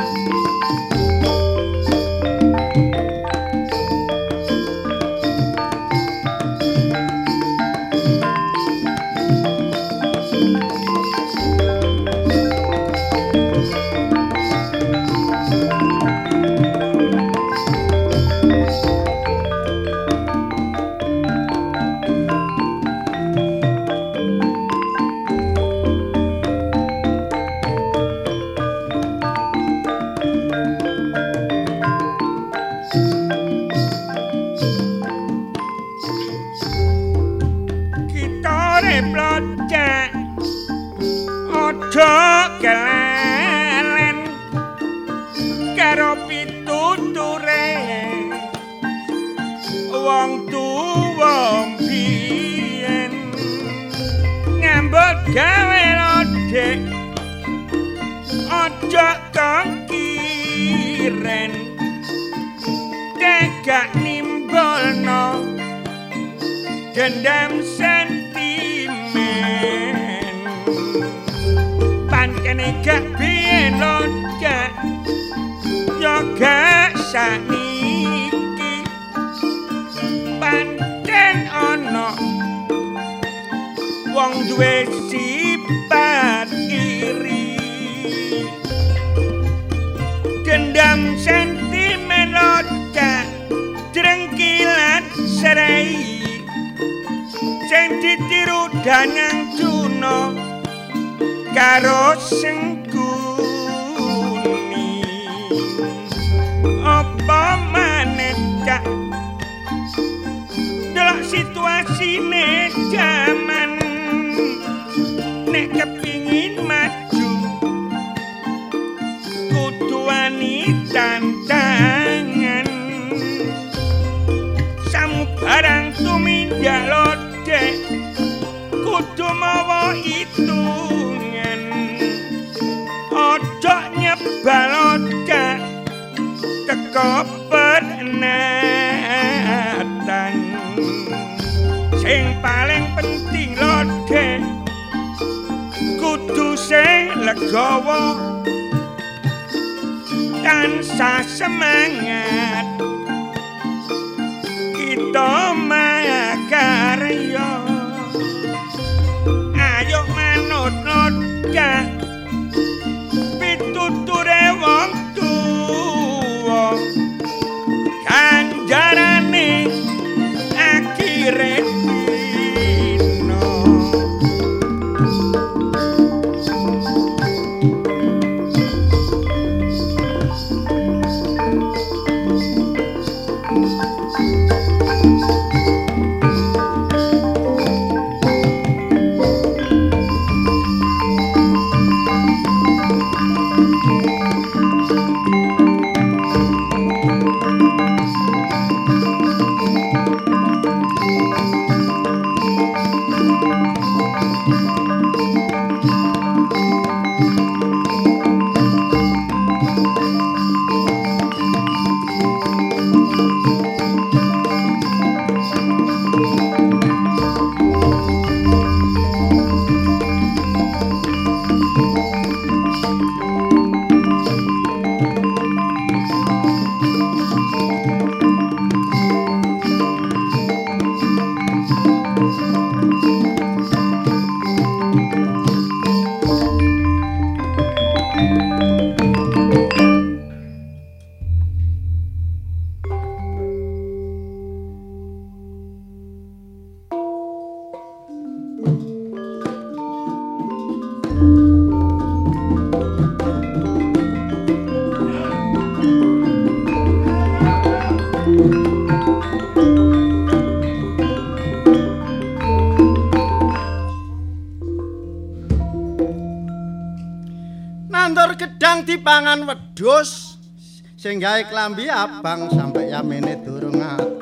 nandur gedang dipangan wedhus sing gawe klambi abang sampai yamene durung adur.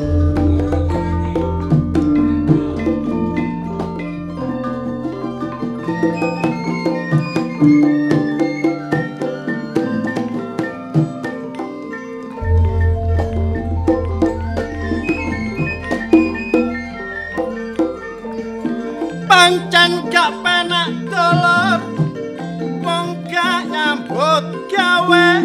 Pancen gak penak dolor wong gak nyambut gawe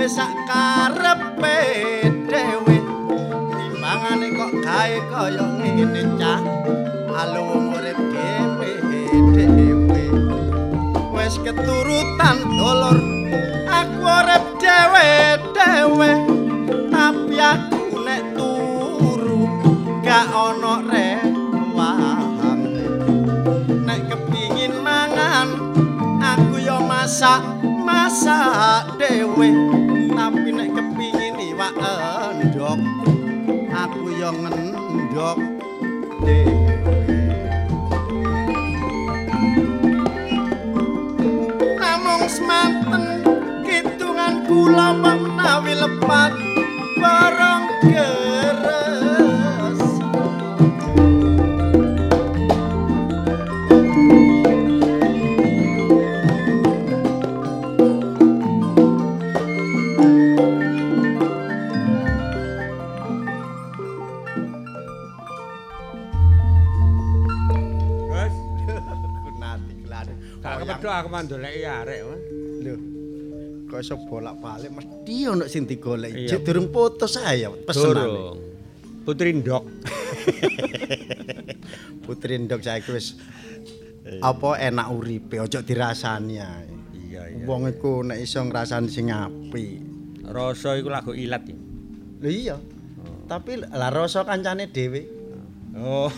wis sak karepe dhewe timbangane kok gawe kaya ngene cah alu wong urip dhewe wis keturutan dolor aku urip dhewe tapi aku nek turu gak ono rewang nek kepingin mangan aku yo masak dhewe tapi nek kepingin iwak endhog aku yo ngendhog dhewe namung semanten kitungan kula menawi lepat barang keres Kepethuk aku mandoleki arek. Lho. Kok iso bolak-balik mesti ono sing digoleki. Jek durung putus ae pesenane. Putri Ndok. Putri Ndok saiki wis apa enak uripe, ojo dirasani ae. Iya. Wong iku nek iso ngrasani sing apik. Rasa iku lagu ilat. Lho iya. Tapi lah rasa kancane dhewe. Oh.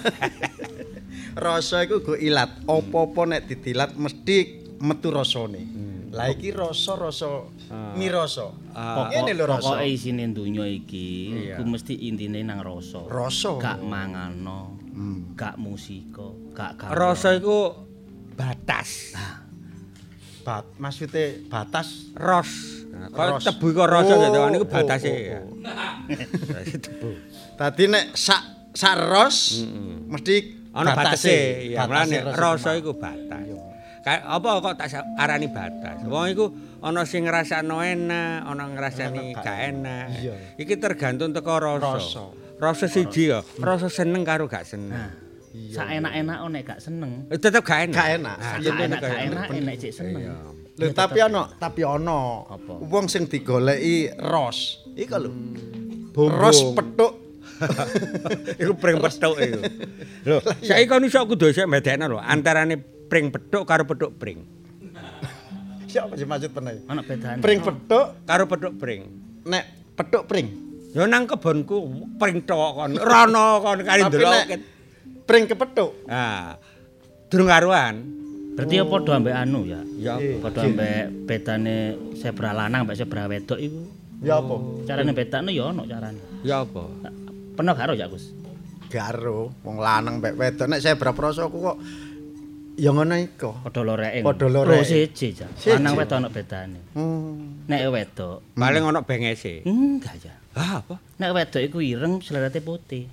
Rasa iku go ilat. Apa-apa nek didilat mesti metu rasane. Lah iki rasa mirasa. Ngene lho rasa. Pokoke isine donya iki iku mesti intine nang rasa. Rasa. Gak mangano, gak musika, gak gawe. Rasa iku batas. Maksudnya batas Ros. Kok tebu kok rasa gitu. Niku batase. Tebu. Tadi nek sak ros mesti ana batase. Ya, batase mulane rasa iku batas. Kayak apa kok tak arani batas. Wong iku ana sing ngrasakno enak, ana ngrasani gak enak. Iki tergantung teko rasa. Rasa siji ya, rasa seneng karo gak seneng. Sak enak-enak nek gak seneng. Tetep gak enak. Gak enak. Gak enak nek cek seneng. Lho tapi ana wong sing digoleki ros. Iku lho. Ros petuk. Iku pring petuk iku. Lho, saiki kon iso kudu sik mbedekno lho antarane pring petuk karo petuk pring. Siapa sih maksud penae? Ana bedane. Pring petuk Karo petuk pring. nek petuk pring. Ya nang kebonku pring tok kon. Rono kon kali ndelok. Pring kepethuk. Nah, durung karuan. Berarti ya padha ambek anu ya. Ya Padha ambek bedane zebra lanang ambek zebra wedok iku. Ya apa? Carane bedakno ya ono carane. ya apa? Pernah karo ya, Gus? Garo, wong lanang mbek wedok nek saya praprasaku kok ya ngono iku. Padha loreke. Padha loreke. Oh, siji ja. Lanang wedok ono bedane. Nek wedok Paling ono bengese. enggak ya. Ah, apa? Nek wedok iku ireng selerate putih.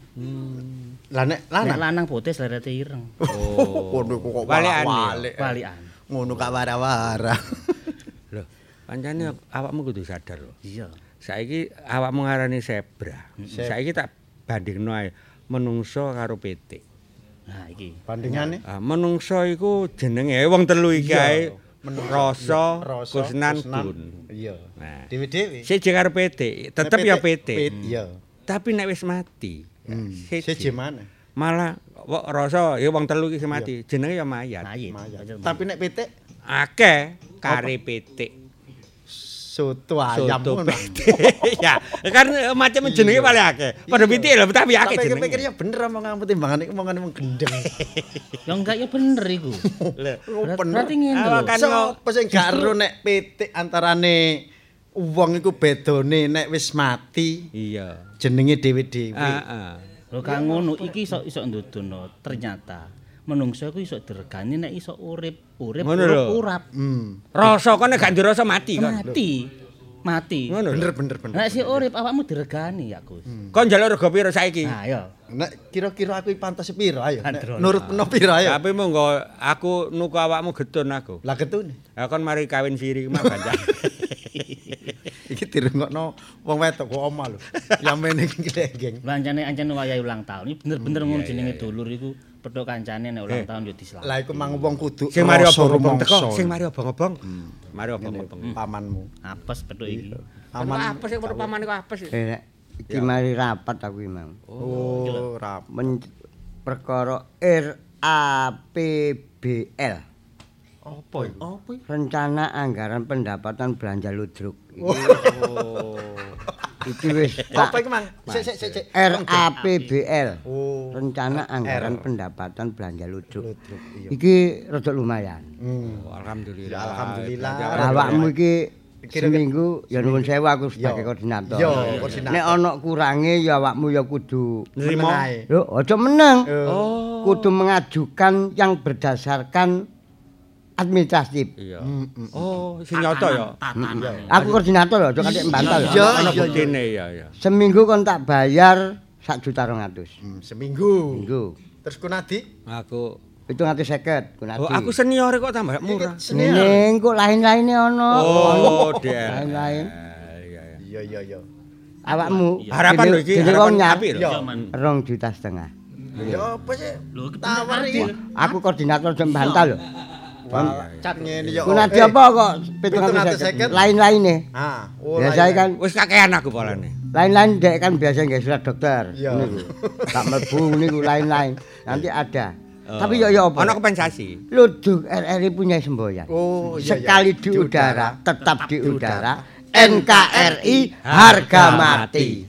Lah nek Nek lanang lanang putih selerate ireng. Oh. ngono iku kok Balikan ya? walik. Balikan. Ngono gak wara-wara. Lho, pancene awakmu kudu sadar lho. Iya. Saiki awakmu ngarani zebra. Saiki tak bandingno ae menungso karo pitik. Nah, iki. Bandingane Menungso iku jenenge wong telu iki ae rasa, kusnan, kun. Iya. Nah, Dewe-dewe. siji karo pitik, tetep ya pitik. Iya. Tapi nek wis mati, Siji mana? malah rasa ya wong telu iki mati, jenenge ya mayat. Mayit. Tapi nek pitik Akeh kare pitik. soto ayam Soto ngono. pitik. Ya, kan macam jenenge paling akeh. Padha pitik lho, tapi akeh Tapi jenenge. pikir ya bener omongan timbangan iku omongan wong gendeng. Ya enggak ya bener iku. Berarti ngene lho. Kan Sopo sing gak ero nek pitik antarane wong iku bedone nek wis mati Iya. jenenge dhewe-dhewe. Heeh. Lho kang ngono iki iso ndudono ternyata menungso iku iso diregani nek iso urip Ngono lho. urap. Rasa kok nek gak dirasa mati kan. Mati. Ngono lho. Bener. Nek si urip awakmu diregani ya, Gus. Kon njaluk rega piro saiki? Nah, ya. Nek kira-kira aku pantes piro ayo. Nek Androno. nurut peno piro ayo. Tapi monggo aku nuku awakmu getun aku. Lah ketune. Ya kon mari kawin siri mah banjak. Iki dirungokno wong wedok kok omah lho. Yamene iki lenggeng. Lancane wayahe ulang tahun. Iki bener-bener ngono jenenge dulur iku pedhok kancane nek ulang tahun yo diselamat. Lah iku mang wong kudu Sing mari rasa obong-obong rumangsa. teko, sing mari obong-obong. Mari obong-obong. pamanmu. Apes pedhok iki. Aman. Apa sih pamane kok apes? Iki mari rapat aku iki mau. Oh, rapat. Perkara RAPBL. Apa iku? Apa iki? Rencana Anggaran Pendapatan Belanja Ludruk. Oh. Iki wis Apa iki, Mang? Sik. RAPBL. Oh. Rencana Anggaran Pendapatan Belanja Ludruk. Iya. Iki rada lumayan. Oh, alhamdulillah. Ya, alhamdulillah. Awakmu iki seminggu ya nuwun sewu aku sebagai koordinator. Yo, koordinator. Nek ana kurange ya awakmu ya kudu Nrimo. lho aja meneng. Oh. Kudu mengajukan yang berdasarkan administratif. Iya. Oh, sing nyoto ya. Aku koordinator lho, aja katik mbantah lho. Iya, Ana iya. buktine ya ya. Seminggu kon tak bayar 1.200.000. Seminggu. Minggu. Terus Kunadi? Aku 750 kunati. Oh, aku senior kok tambah murah. Ning kok lain-laine ana. Oh, dia. Lain-lain. Iya. Iya. Awakmu Harapan lho iki, dene harapan wong nyap api lho. 2,5 juta. Ya apa sih? Lho, Tawar iki. Aku koordinator jam bantah lho. Cat ngene ya. Kunati apa kok 750? 750? Lain-laine. Ah, oh. Biasa kan Wis kakean aku polane. lain-lain dek kan biasa nggak surat dokter. Iya. Niku. Tak mlebu niku lain-lain. Nanti ada. Tapi ya apa? Ana kompensasi. Ludruk RRI punya semboyan. Oh, iya. Sekali di udara, tetap di udara. NKRI harga mati.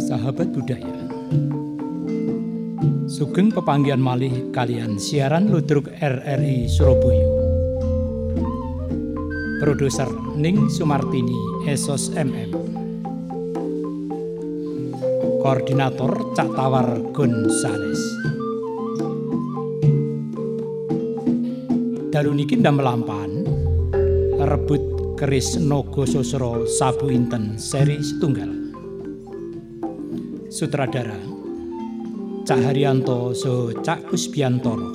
Sahabat budaya, sugeng pepanggihan malih kalian siaran Ludruk RRI Surabaya. Produser Ning Sumartini Esos MM. Koordinator Cak Tawar Gonzales. Dalu niki ndamel lampahan rebut keris Naga Sasra Sabu Inten seri setunggal. Sutradara Cak Haryanto saha Cak Kusbiantoro.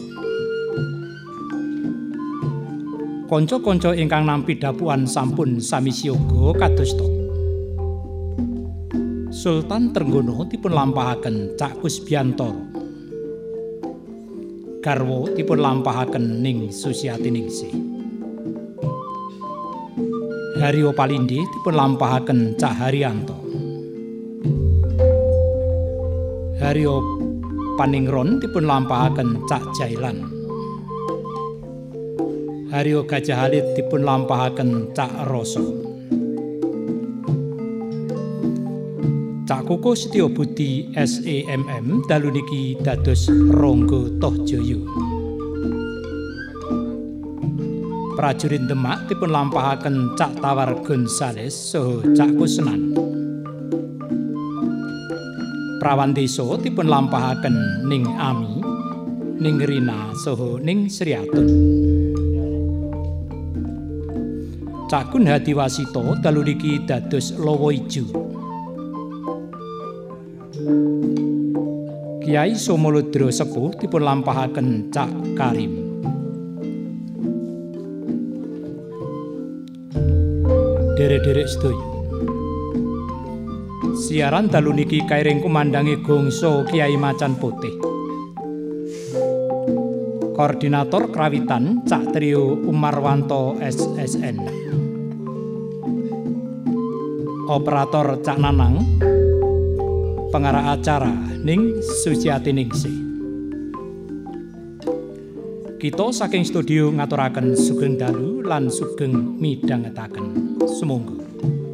Kanca-kanca ingkang nampi dapuan sampun sami siyaga kadosta. Sultan Trenggono dipun lampahaken Cak Kusbiantoro. Garwa dipun lampahaken Ning Susiatiningsih. Haryo Palindi dipun lampahaken Cak Haryanto. Haryo Paningron dipun lampahaken Cak Jailan. Haryo Gajah Halid dipun lampahaken Cak Roso. Cak Koko Setyo Budi SEMM dalu niki dados Rangga Tohjaya. Prajurit Demak dipun lampahaken Cak Tawar Gonzales saha Cak Kusnan. Prawan Desa dipun lampahaken Ning Ami, Ning Rina saha Ning Sriatun. Cak Gun Hadiwasito dalu niki dados Lawa Ijo. Kiai Somolodro Sepuh dipun lampahaken Cak Karim. Derek-derek sedaya. Siaran dalu niki kairing kumandangi gongso Kiai Macan Putih. Koordinator Krawitan Cak Trio Umarwanto SSN. Operator Cak Nanang. Pengarah acara Ning Susiatiningsih. Kita saking studio ngaturaken sugeng dalu lan sugeng midhangetaken. Sumangga.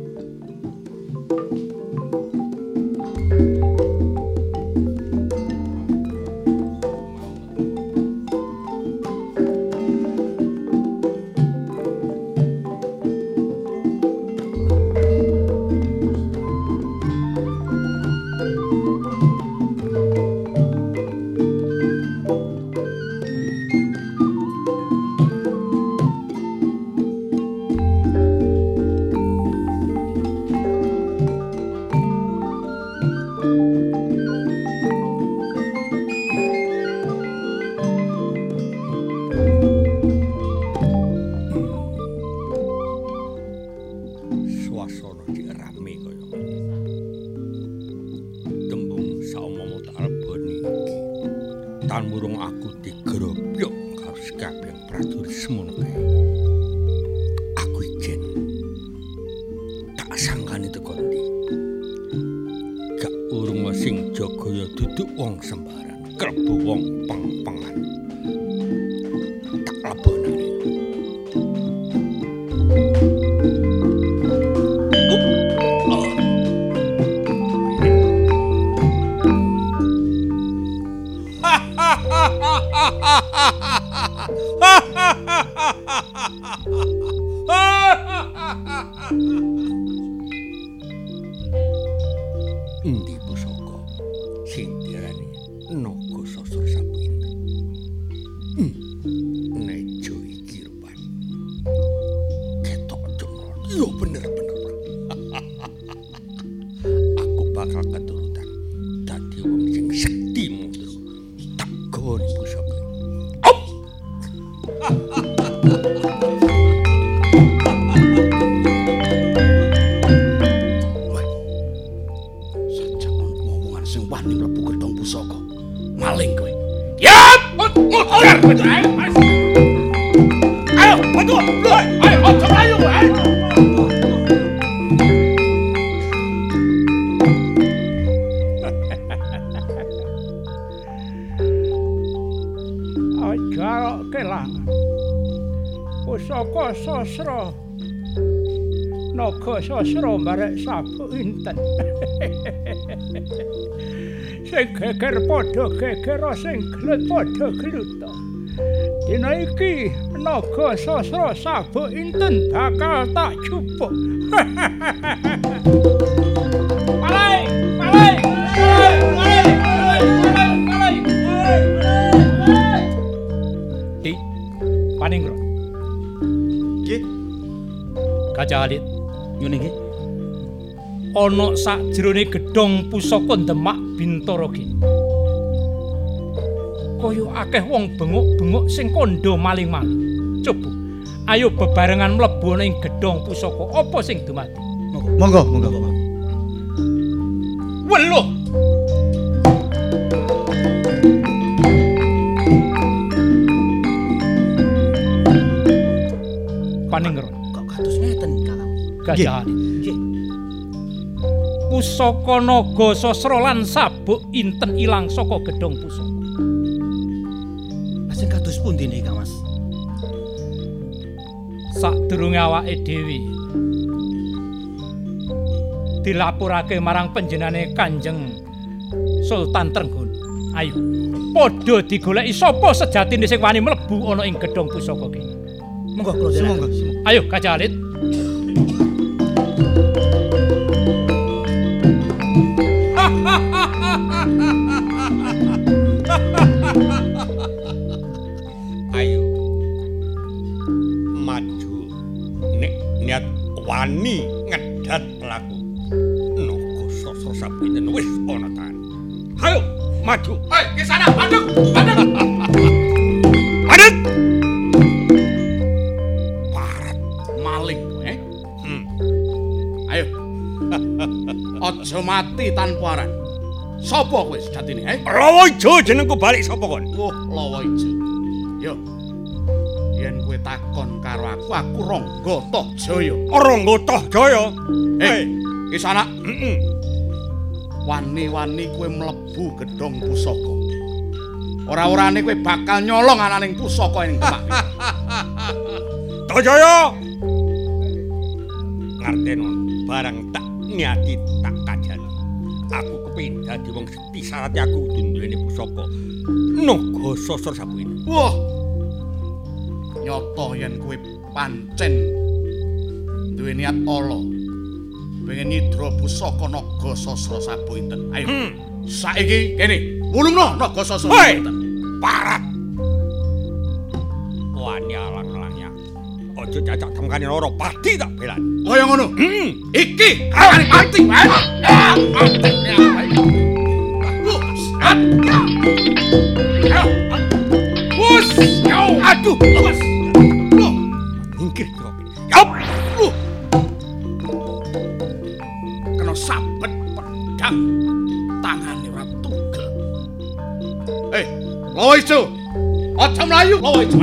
Endi pusaka sing diarani Naga Sasra Sabu Inten? Nejo iki rupane ketok cemrot. Yo bener-bener. Aku bakal keturutan dadi wong sing sekti mundur. Tak goni pusaka. Maling kowe. Ya, ora betul. Ayo, betul. Ayo, ayo, ayo. Aja kelangan. Pusaka sasra Naga naga sasra barek sabuk inten. Sing geger padha geger, sing gelut padha gelut. Dina iki naga sasra sabuk inten bakal tak jupuk. Palai, palai, palai, palai, palai, palai. Di Paningro. Nggih. Gajah Alit. Ngene iki. Ana sakjroning gedhong pusaka Demak Bintara ki. Kaya akeh wong bengok-bengok sing kandha maling-maling. Coba, ayo bebarengan mlebu ning gedhong pusaka apa sing dumadi. Monggo. Weluh. Paningron. Kok kados ngeten Kakang? Gajah Alit. Nggih. Pusaka naga sasra lan sabuk inten ilang saka gedhong pusaka. Lajeng kados pundi niki, Kang Mas? Sadurunge awake dhewe dilapurake marang panjenengane Kanjeng Sultan Trenggono. Ayo, padha digoleki sapa sejatine sing wani mlebu ana ing gedhong pusaka ki. Monggo kula derek. Ayo Gajah Alit. Ayo. Maju. Nek niat wani ngedat pelaku. Naga sasra sabiten wis ana tan. Ayo, maju. Hei, ke sana, paduk. Adet. Parat maling kowe. Ayo. Aja mati tanpa aran. Sapa kowe sejatine, Lawa Ijo jenengku balik sapa kon? Oh, Lawa Ijo. Yo. Yen kowe takon karo aku Rangga Tohjaya. Rangga Tohjaya. Ki sana. Wani-wani kowe mlebu gedhong pusaka. Ora-orane kowe bakal nyolong ananing pusaka ning Demak. Tohjaya. Ngarteno barang tak niati tak kajani. Aku kepengin dadi wong sekti syarat aku kudu duweni pusaka naga sasra sabuk ini. Wah. Nyata yen kowe pancen duwe niat ala. Pengen nyidra pusaka naga sasra sabuk inten. Ayo. Saiki kene, wulungno naga sasra sabuk inten. Parat. Wani alang-alangnya. Aja cacak temkane loro pati tak belani. Kaya ngono. Iki arane mati, Mas. Aduh, awas. Ingkir kok. Yop. Kena sabet pedang tangane ora tugel. Lawa Ijo. Aja mlayu, Lawa Ijo.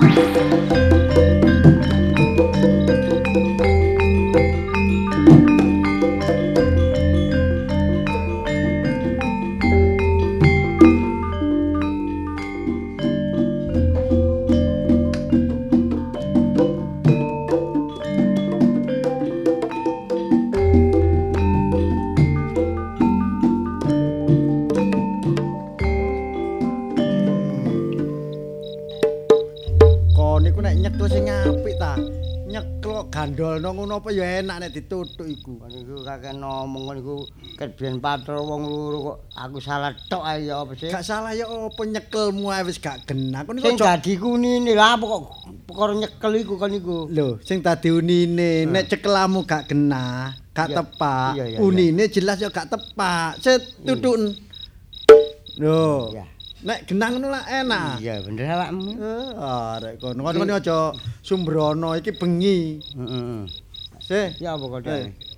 Gandolno ngono apa ya enak nek dituthuk iku. Niku kakek ngomong niku ket biyen patro wong loro kok aku salah tok ae ya apa sih? Gak salah ya apa nyekelmu ae wis gak genah. Kon Sing dadi kunine lha apa kok perkara nyekel iku kon niku. Lho, sing dadi unine nek cekelamu gak genah, gak tepak. Unine jelas ya gak tepak. Set tutuken. Lho. Nek genang ngono lah enak. Iya bener awakmu. Arek kono aja sumbrono iki bengi. Heeh. Sih, ya apa kok.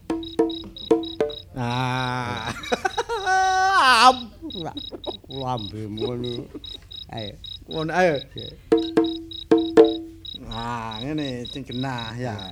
Nah. Lambemu ngono. Ayo. Ngono ayo. Nah, ngene sing genah ya.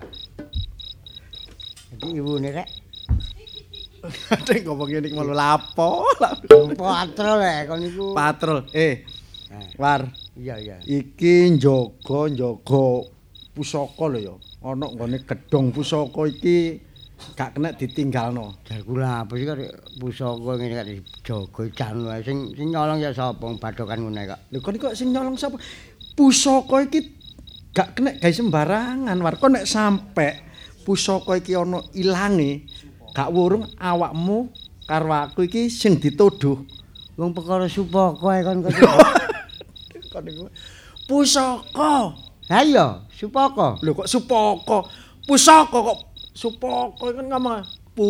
Jadi ibune rek Dek ngomong ngene iki malu lapo. Patrol rek kon niku. Patrol. War. Iya. Iki njaga pusaka lho ya. Ana nggone gedhong pusaka iki gak kena ditinggalno. Jar kula apa sih kok pusaka ngene kok dijaga jan wae sing nyolong ya sapa badhokan ngene kok. Lho kok sing nyolong sapa? Pusaka iki gak kena gawe sembarangan war. Kok nek sampe pusaka iki ana ilange, gak wurung awakmu karo aku iki sing dituduh. Wong perkara supaka kon kok. Kon niku pusaka. Ha iya, supaka. Lho kok supaka? Pusaka kok supaka kan ngomong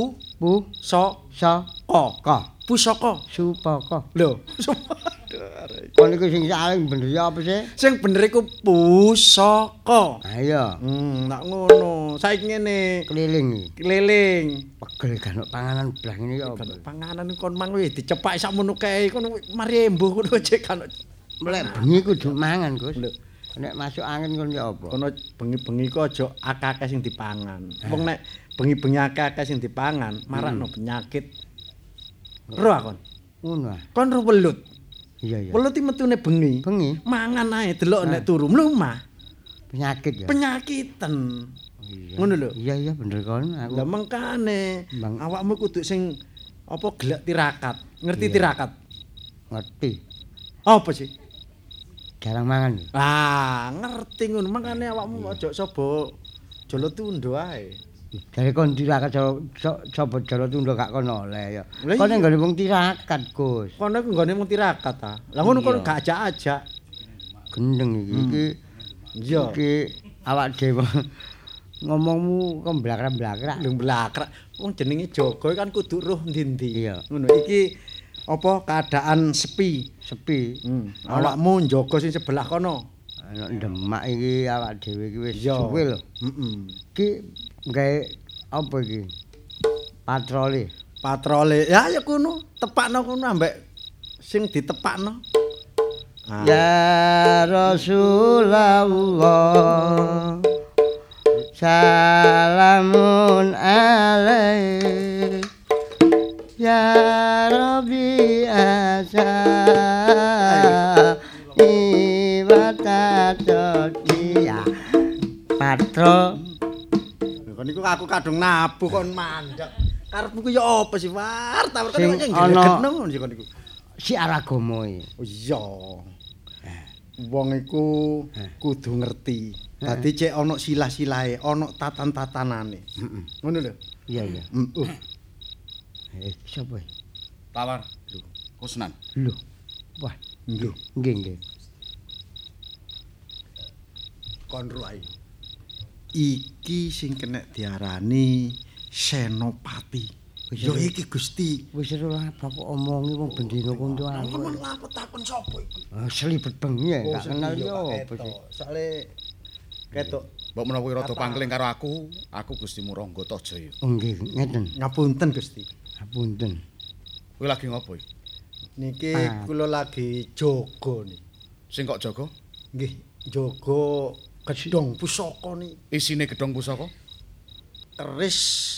Saka. Pusaka. Supaka. Lho, Kon niku sing saling bener ya apa sih? sing bener iku pusaka. Ha iya. Nak ngono. Saiki ngene, Keliling. Pegel kan panganan blah ngene ya apa? panganan kon mang wis dicepak sakmono kae kon mari embuh ngono cek kan. Melek bengi kudu mangan, Gus. Lho, Nek masuk angin kon ya apa? kono bengi-bengi ku aja akeh-akeh sing dipangan. Wong nek bengi-bengi akeh-akeh sing dipangan, marakno penyakit. Roh kon. Ngono ah. Kon ro welut. Iya. Welut iki metune bengi. Bengi Mangan ae delok nek turu mlumah. penyakit ya. Penyakiten. Ngono lho. Iya bener kon aku. Lah mengkane Bang. awakmu kudu sing apa gelek tirakat. Ngerti tirakat? Ngerti. Apa sih? Jarang mangan. Ah, ngerti ngono. Mangkane awakmu aja sapa jolo tundo ae. Dari kon tirakat coba jalo tunda gak kono oleh ya. Lah Kon iya. nggone wong tirakat, Gus. Kono iku nggone mung tirakat ta. Lah ngono kon Iya. gak ajak-ajak. Gendeng iki. Iya. Iki awak dhewe ngomongmu kok blakrak-blakrak. Lho blakrak. Wong jenenge jaga kan kudu roh ndi-ndi. Iya. Ngono iki apa keadaan sepi. Awakmu njaga sing sebelah kono. Ana Demak iki awak dhewe iki wis Iya. suwe lho. Heeh. Iki gawe apa iki? Patroli. Patrole. Ya kuno, tepakno kuno ambek sing ditepakno. Ah. Ya Rasulullah salamun alaik ya Rabbi asa ibatatia patro. Kon niku aku kadung nabuh kon mandek. Karepmu ku ya apa sih, War? Tawar Sing kan ana- ngono sih kon niku. Si aragama iki. Oh iya. Wong iku kudu ngerti. Dadi cek ana silah-silahe, ana tatan-tatanane. Ngono lho. Iya. Heeh. Sapa? Tawar. Kusnan. Lho. Wah, Nggih. nggih. Kon ro ae. Iki sing kena diarani Senopati. Ya iki Gusti. Wis ora apa kok omongi wong bendina kuntu aku. Kon lapo takon sapa iku? Selibet bengi ya, gak kenal iya, yo Pak apa sih. Ketok. Soale ketok. Mbok menawa kowe rada pangling karo aku Gusti Murangga Tajaya. Oh nggih, ngeten. Ngapunten Gusti. Apunten. Kowe lagi ngopo iki? Niki Ah. kula lagi jaga nih. Sing kok jaga? Nggih, jaga gedhong pusaka nih. Isine gedhong pusaka? Keris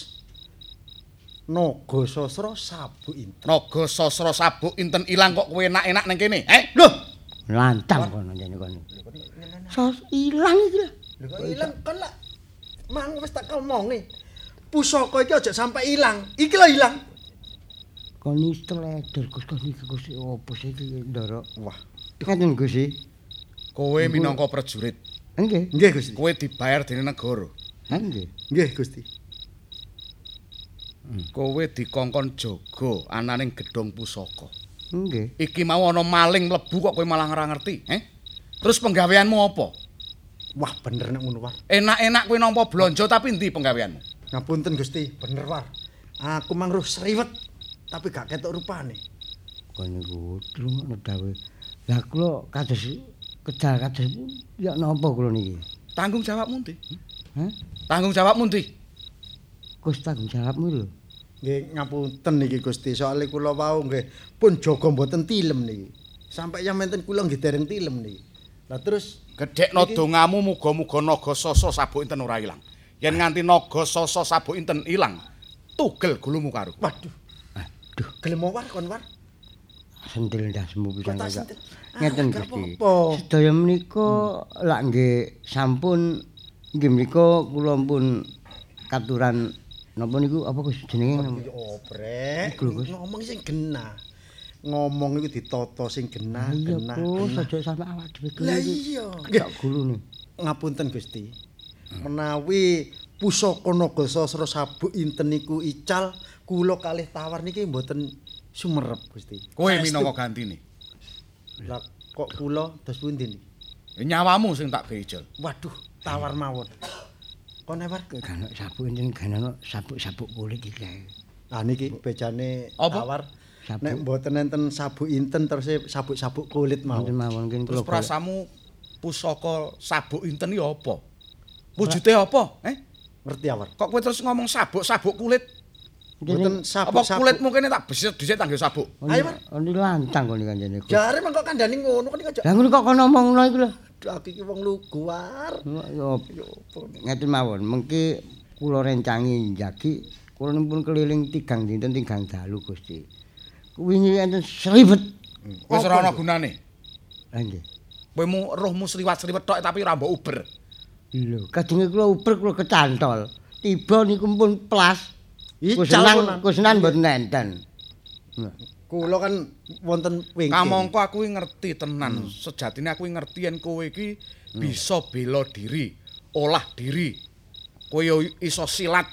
Naga Sasra Sabu Inten. Naga Sasra Sabuk Inten ilang kok kowe enak-enak nang kene. Loh, Lantang kono jane kono. Sos ilang iki lho. lho kok ilang kan lah. Mang wis tak omongi. Pusaka iki aja sampai ilang. Iki lho ilang. Kon iki teledor Gus kon iki Gus opo sih iki ndoro. Wah, Ngeten Gus iki. Kowe minangka prajurit, Nggih. nggih Gusti. kowe dibayar dening negara. Ha nggih. Nggih Gusti. Kowe dikongkon jaga ananing gedhong pusaka. Nggih. Iki mau ana maling mlebu kok kowe malah ora ngerti, Terus penggaweanmu apa? Wah, bener nek ngono, War. Enak-enak kowe nampa blonjo tapi ndi penggaweanmu? Ngapunten Gusti, bener War. Aku mang roh sriwet tapi gak ketok rupane. Kon niku ngono dawe. Lah kula kados kedal kados ya napa kula niki? Tanggung jawabmu ndi? Hah? Tanggung jawabmu ndi? Gus tanggung jawabmu lho. Nggih ngapunten niki Gusti, soalé kula wau nggih pun jaga mboten tilem niki. Sampai yang menten kula nggih dereng tilem niki. Lah terus Gedhekno dongamu muga-muga Naga Sasa Sabuk Inten ora ilang. Yen nganti Naga Sasa Sabuk Inten ilang, tugel gulumu karo. waduh. Aduh, Gelem war kon war. sentil ndasmu pisan Kok tak kaya. sentil? Ngeten gak Gusti. apa-apa. Sedaya menika lak nggih sampun nggih menika kula pun katuran Napa niku apa Gus jenenge? Oh, Brek. Ngomong sing genah. Ngomong iku ditata sing genah. Iya, Gus, aja sampe awak dhewe gelu. Lah iya. Tak gulune. Ngapunten Gusti. Menawi pusaka Nagasasra sabuk inten niku ical, kula kalih tawar niki mboten sumerep Gusti. Kowe minangka gantine. Lah kok kula dos pundi niki? Nyawamu sing tak beijel. Waduh, tawar mawon. Kono war Kan sabuk enten kan sabuk kulit iki kae. Ah niki bejane Apa? tawar. Sabuk. Nek mboten enten sabuk inten terus sabuk kulit Wonten mawon. mawon kene Terus kula. prasamu pusaka sabuk inten iki apa? Wujude apa? Ngerti awar? Kok kowe terus ngomong sabuk kulit? Mboten Apa kulitmu kene tak besit dhisik tanggo sabuk? Ayo, Mas. Oni lantang kok kanjene. Jare mengko kandhani ngono kan iki aja. Lah ngono kok kono omongno iku lho. Aduh, aku iki wong lugu war. Yo ngeten mawon, mengki kula rencangi njagi kula pun keliling tigang dinten tigang dalu Gusti. Wingi enten sriwet. Wis ora ana gunane. Lah nggih. Kowe rohmu sliwat-sliwet tok tapi ora mbok uber. Lho, kadenge kula uber kula kecantol. Tiba niku pun plas. Ical Kusenan mboten enten. Kula kan wonten wingking. Kamangka aku ngerti tenan. Sejatine aku ngerti yen kowe iki bisa bela diri, olah diri. Kowe yo iso silat,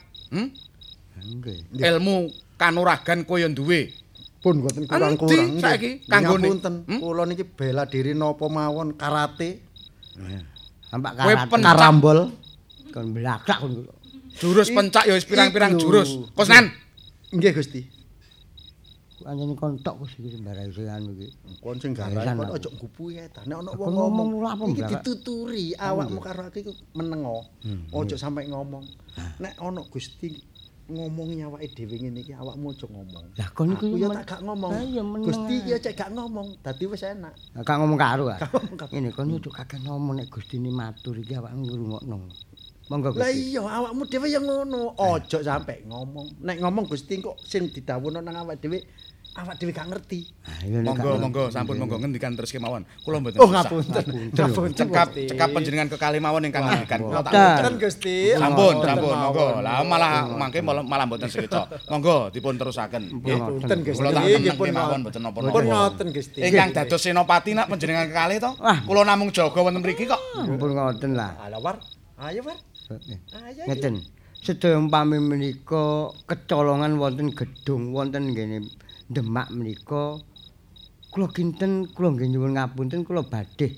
Nggih. ilmu kanuragan kowe yo duwe. Pun mboten kurang-kurang. Endi saiki kanggone? Ngapunten, kula niki bela diri napa mawon karate. Sampak Kowe karate Karambol. kon blakak kon. Jurus pencak ya wis pirang-pirang Iku. jurus. Kosnan. Nggih Gusti. Anjene kontok Gus iki sembarang sing anu iki. Kon sing gawe Gawesan kon aku. aja ngupuhi ta. Nek ana Aku wong ngomong ngomong lho apa, iki Mbak? dituturi awakmu karo aku iku menengo. Aja sampe ngomong. Nek ana Gusti ngomongi awake dhewe ngene iki awakmu aja ngomong. Lah kon niku Aku ya tak gak ngomong. Lah iya meneng. Gusti iki aja gak ngomong. Dadi wis enak. Gak ngomong karo ah. Gak ngomong karo. Ngene kon ojo kakek ngomong nek Gustine matur iki awakmu ngrungokno. Monggo Lah Gusti. iya awakmu dhewe ya ngono. Aja sampe ngomong. Nek ngomong Gusti kok sing didhawuhno nang awake dhewe gak ngerti. Ah, iya, nek Monggo, gak- monggo, sampun monggo ngendikan terus kemawon. Kula mboten Oh susah. ngapunten. Ngapunten Gusti. Cekap panjenengan kekalih mawon ingkang ngendikan. Kula tak Ngapunten Gusti. Sampun, Ngapunten sampun, monggo. mawon. Lah malah malah mboten sekeca. Monggo dipun terusaken. Nggih. Ngapunten Gusti. Kula tak Nggih, meneng pun mawon ngoten. mboten Pun napa-napa. ngoten Gusti. Ingkang dados senopati nak panjenengan kekalih to. Wah. Kula namung jaga wonten mriki kok. Ampun ngoten lah. Ala war. Ayo war. Ayo. Ngeten. Sedaya umpami menika kecolongan wonten gedung wonten nggene Demak menika kula kinten kula nggih nyuwun ngapunten kula badhe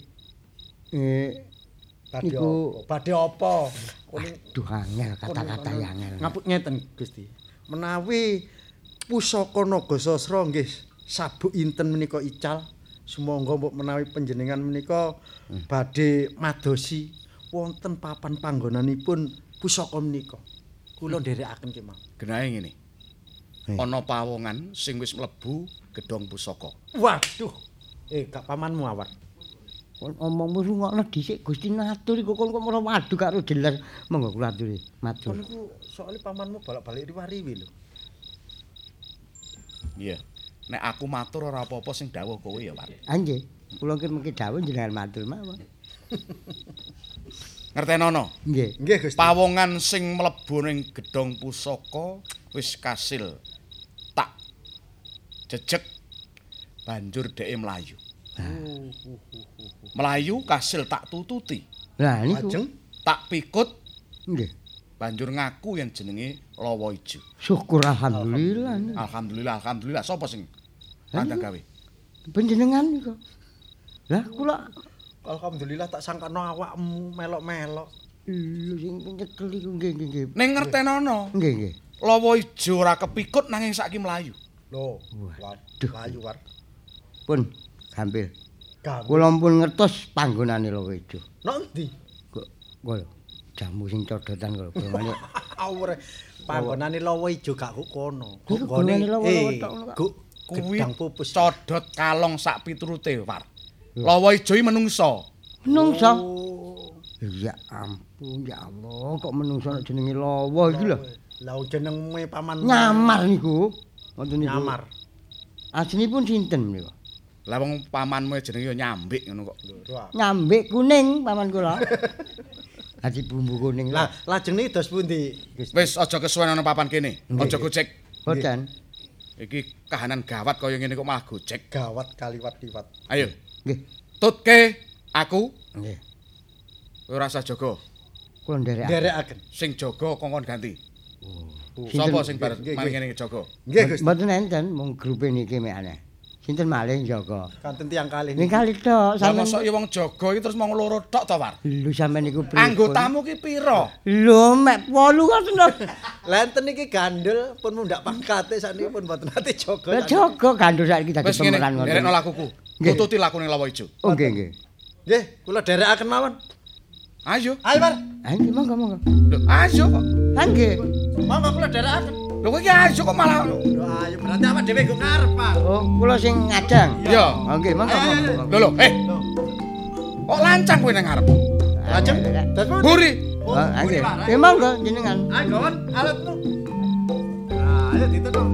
niku Badhe apa? duh angel kata-kata yang angel. Ngapun ngeten Gusti. Menawi pusaka Nagasasra nggih sabuk inten menika ical, sumangga mbok menawi panjenengan menika badhe madosi wonten papan panggonanipun pusaka menika. Kula nderekaken kemawon. Genahe ngene. Ana pawongan sing wis mlebu gedhong pusaka. Waduh. Gak pamanmu awar. Kon omongmu rungokno dhisik Gusti natur iku kon kok ora wadu karo jelas. Monggo kula aturi matur. Kon niku soalé pamanmu balak-balik riwari lho. Iya. Nek aku matur ora apa-apa sing dawuh kowe ya, Pak. Ah nggih, kula mengki dawuh jenengan matur mawon. Ngertenono. Nggih. Nggih Gusti. Pawongan sing mlebu ning gedhong pusaka wis kasil tak jejeg banjur dheke mlayu. Mlayu kasil tak tututi, Lah niku. Ajeng. tak pikut Nggih. banjur ngaku yang jenenge Lawa Ijo. Syukur alhamdulillah. Alhamdulillah, alhamdulillah. Sapa sing kandhang gawe? Panjenengan niku. Lah kula Alhamdulillah tak sangkano awakmu melok-melok. lho sing nyekel iku nggih. Ning ngertenono, Nggih. Lawa Ijo ora kepikut nanging saiki mlayu. Loh, waduh layu war. Pun gampil. Gampil. Kula pun ngertos panggonane Lawa Ijo. Nang ndi? Kok jamu sing codotan kok golongane. Awure panggonane Lawa Ijo gak kok kono. Iku golongane Lawa wetok ngono, Kak. Kuwi gedang pupus. codot kalong sak piturute, War. Lawa Ijo iki menungso. Menungso. Oh, Ya ampun ya Allah, kok menungso nek jenenge Lawa iki lho. lah jenenge paman Nyamar niku. Ngoten niku. nyamar. Aslinipun sinten niku? Lah wong pamanmu jenenge ya nyambik ngono kok. Nyambik kuning paman kula. Dadi bumbu kuning. Lah, lajeng niki dos pundi? Wis aja kesuwen ana papan kene. Aja gojek. Boten. Iki kahanan gawat kaya ngene kok malah gojek. Gawat kaliwat-liwat. Ayo. Nggih. Tutke aku. Nggih. Kowe ora usah jaga. Kula nderekaken. Nderekaken. Sing jaga kongkon ganti. Sinten? Sapa sing bar Nggih, maling ngene jaga? Nggih, Gusti. Mboten enten, mung grupe niki mek aneh. Sinten malih jaga? Kanten tiyang kalih. Ning kali tok Lah sampean. mosok ya wong jaga iki terus mung loro tok to, War? Lho sampean niku pripun? Anggotamu ki pira? Lho mek 8 kok tenan. Lenten iki gandel pun mundak pangkate sakniki pun mboten ate jaga. Lah jaga gandul saiki dadi Wis ngene, pemeran ngoten. nderekno lakuku. Nggih. Tututi lakune lawa ijo. Oh nggih nggih. Nggih, kula dherekaken mawon. Ayo. Ayo, Par. Ah nggih monggo. Lho, ayo kok. Ah nggih. Monggo kula dherekaken. Lho kowe iki ayo kok malah Lho, ayo berarti awak dhewe nggo ngarep, Pak. Oh, kula sing ngadang. Iya. Oh nggih monggo. Lho lho, kok lancang kowe nang ngarep? Lajeng dos pundi? Buri. Oh, nggih. Ya monggo jenengan. Ayo, Gon, alatmu. Nah, ayo ditutuk.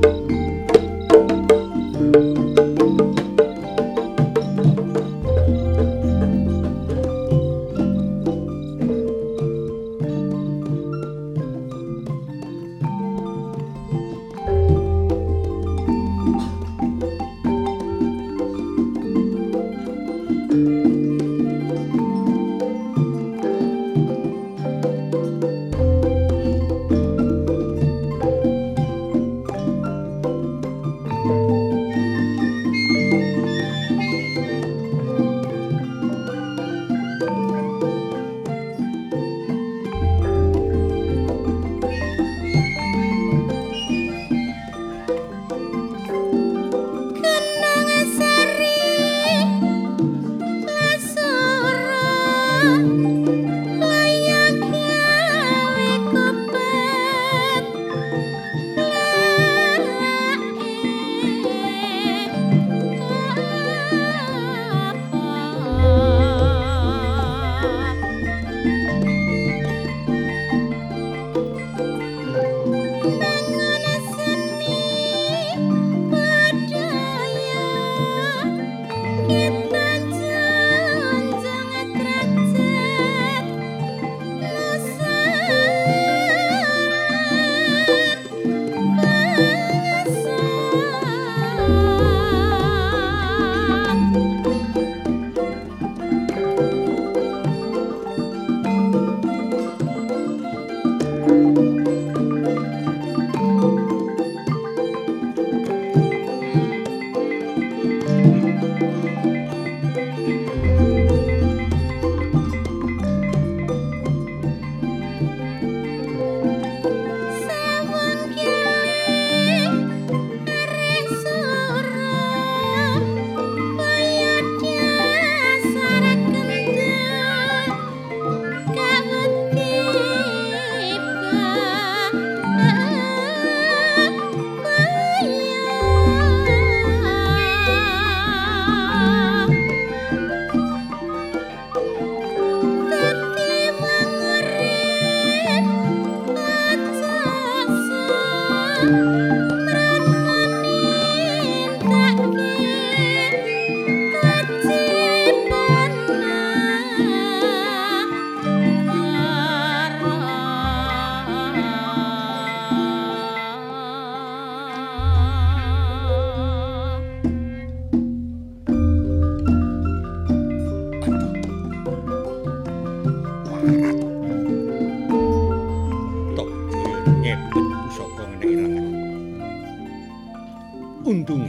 Untunge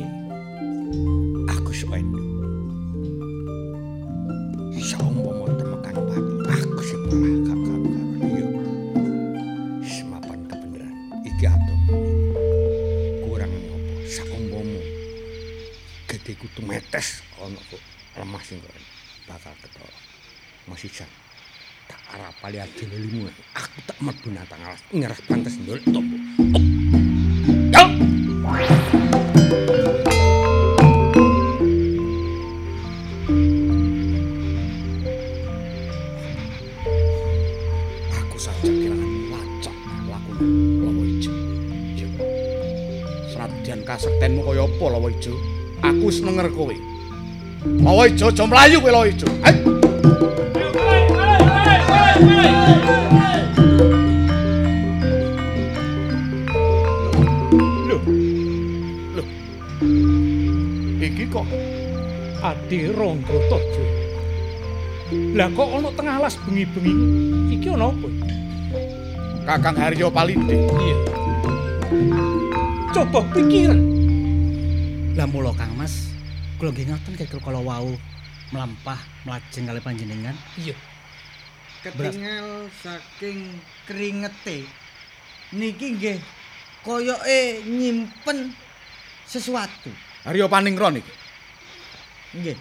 aku suwendu. Saumpama temekan pati, aku sing malah gak karo iya. Semapan kebenaran iki atom. Kurang ngopo saumpama gedheku tumetes ana kok lemah sing kok bakal ketara. Masih jan tak arapali adine limu. Aku tak mlebu nang alas ngeras pantes ndol tombo. Yo! Aku saja kelangan lacak lakune Lawa Ijo. Yo. Senadyan kasektenmu kaya apa Lawa Ijo? Aku wis nenger kowe. Lawa Ijo aja mlayu kowe Lawa Ijo. Ayo. Iki kok Adi Rangga Taja. Lah kok ana tengah alas bengi-bengi iki ana apa? Kakang Haryo Palindih. Iya. Coba pikiran. Lah mula Kang Mas, kula nggih ngoten kala wau mlampah mlajeng kalih panjenengan. Iya. Ketingal saking keringete niki nggih koyoke nyimpen sesuatu. Haryo Paningron iki. Nggih.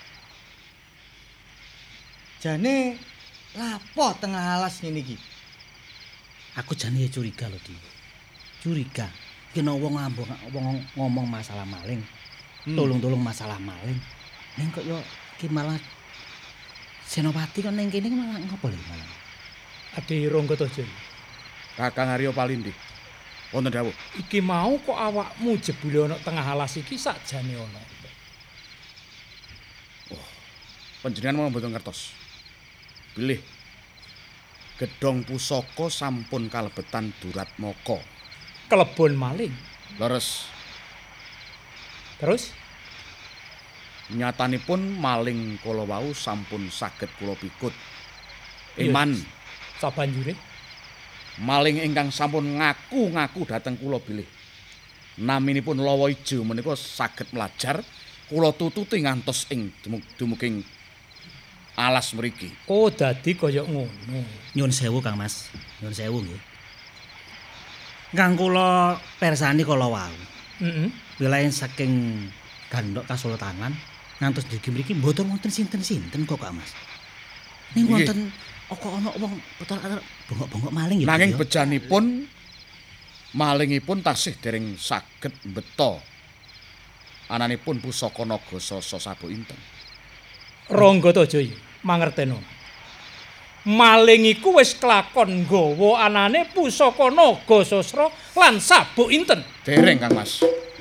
Jane lapo tengah alas ngene iki? Aku jane curiga lho, Di. Curiga. Kena wong ngomong masalah maling. Tolong-tolong masalah maling. Ning kok yo iki malah Senopati kok ning kene malah ngopo lho malah. Adi Rangga Taja. Kakang Haryo Palindih. Wonten dawuh. Iki mau kok awakmu jebule ana tengah alas iki sakjane ana. Panjenengan mau mboten ngertos. Bilih gedhong pusaka sampun kalebetan Duratmaka. Kelebon maling. Leres Terus nyatanipun maling kala wau sampun saged kula pikut. Iya. Iman sabanjure maling ingkang sampun ngaku-ngaku dhateng kula bilih. Naminipun Lawa Ijo menika saged mlajar kula tututi ngantos ing dumuking alas mriki. oh dadi kaya ngono. Nyuwun sewu Kang Mas. Nyuwun sewu nggih. Kang kula persani kala wau. Heeh. Wilayan saking Gandok Kasultanan ngantos dugi mriki mboten wonten sinten-sinten kok Kak Mas. Ning wonten kok ana wong betul bengok-bengok maling ya. Nanging bejanipun malingipun tasih dereng saged mbeta ananipun pusaka naga sasa sabu inten. Rangga Taja iki mangerteno. Maling iku wis kelakon nggawa anane pusaka naga sasra lan sabuk inten. Dereng Kang Mas.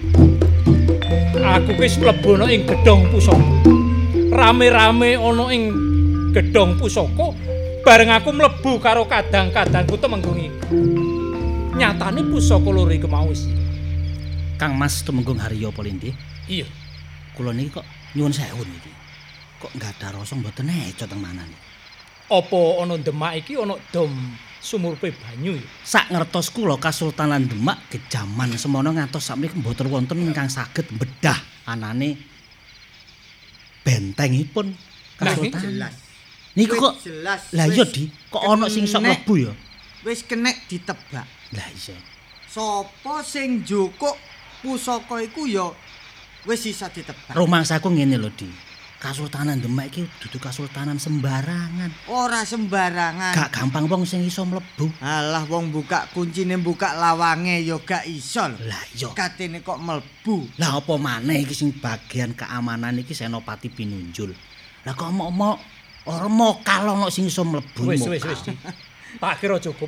Aku wis mlebu ana ing gedhong pusaka. Rame-rame ana ing gedhong pusaka bareng aku mlebu karo kadang-kadangku temenggung iki. Nyatane pusaka loro iku mau wis. Kang Mas Tumenggung Haryo Palindih. Iya. Kula niki kok nyuwun sewu niki. Kok enggak ada rasa mboten eco teng manane. Apa ana Demak iki ana dom sumurpe banyu ya? Sak ngertos kula Kasultanan Demak gejaman semono ngantos sakmenika mboten wonten ingkang saged mbedah anane bentengipun Kasultanan. Jelas. Niku kok jelas. lah iya Di, kok ana sing sok mlebu ya? Wis kenek ditebak. Lah iya. Sopo sing njukuk pusaka iku ya wis isa ditebak. Rumangsaku ngene lho Di. Kasultanan Demak iki dudu kasultanan sembarangan. Ora sembarangan. Gak gampang wong sing iso mlebu. Alah wong buka kuncine buka lawange ya gak iso lho. Lah iya. Katene kok mlebu. Lah apa maneh iki sing bagian keamanan iki Senopati Pinunjul. Lah kok mok ora mokal ana sing iso mlebu. Wis Di. Tak kira cukup.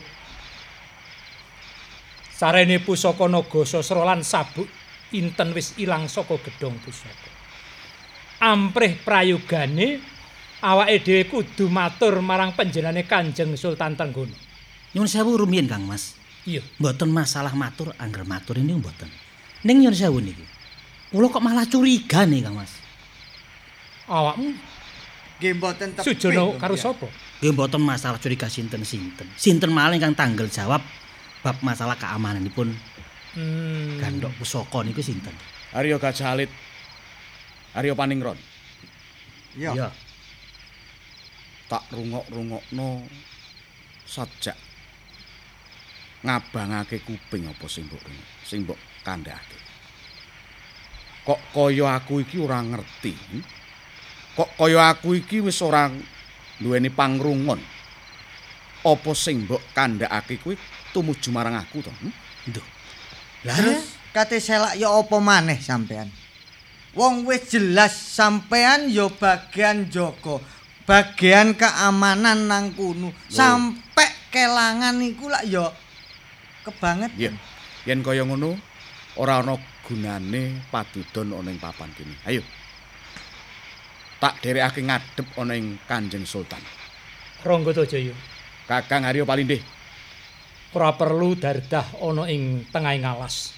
Sarene pusaka naga sasra lan sabuk inten wis ilang saka gedhong pusaka. Amprih prayogane awake dhewe kudu matur marang panjenengane Kanjeng Sultan Trenggono. Nyuwun sewu rumiyin Kang Mas. Iya. Mboten masalah matur, angger matur ini mboten. Ning nyuwun sewu niki. Kula kok malah curiga nih Kang Mas. Awakmu Nggih mboten tepih. sujono karo sapa? Nggih mboten masalah curiga sinten-sinten. Sinten maling kang tanggal jawab bab masalah keamananipun Gandok Pusaka niku sinten? Haryo Gajah Alit. Haryo Paningron. Iya. Tak rungok-rungokno sajak ngabangake kuping apa sing mbok kandhake. Kok kaya aku iki ora ngerti. Kok kaya aku iki wis ora duweni pangrungon. Apa sing mbok kandhake kuwi tumuju marang aku to? Duh. Terus kate selak ya apa maneh sampean? Wong wis jelas sampean ya bagian jaga, bagian keamanan nang kono. Sampai kelangan iku lak ya kebanget. Iya. Yen kaya ngono ora ana gunane padudon ana ing papan kene. Ayo. Tak dherekake ngadhep ana ing Kanjeng Sultan. Rangga Taja. Kakang Haryo Palindih. Ora perlu dardah ana ing tengahing alas.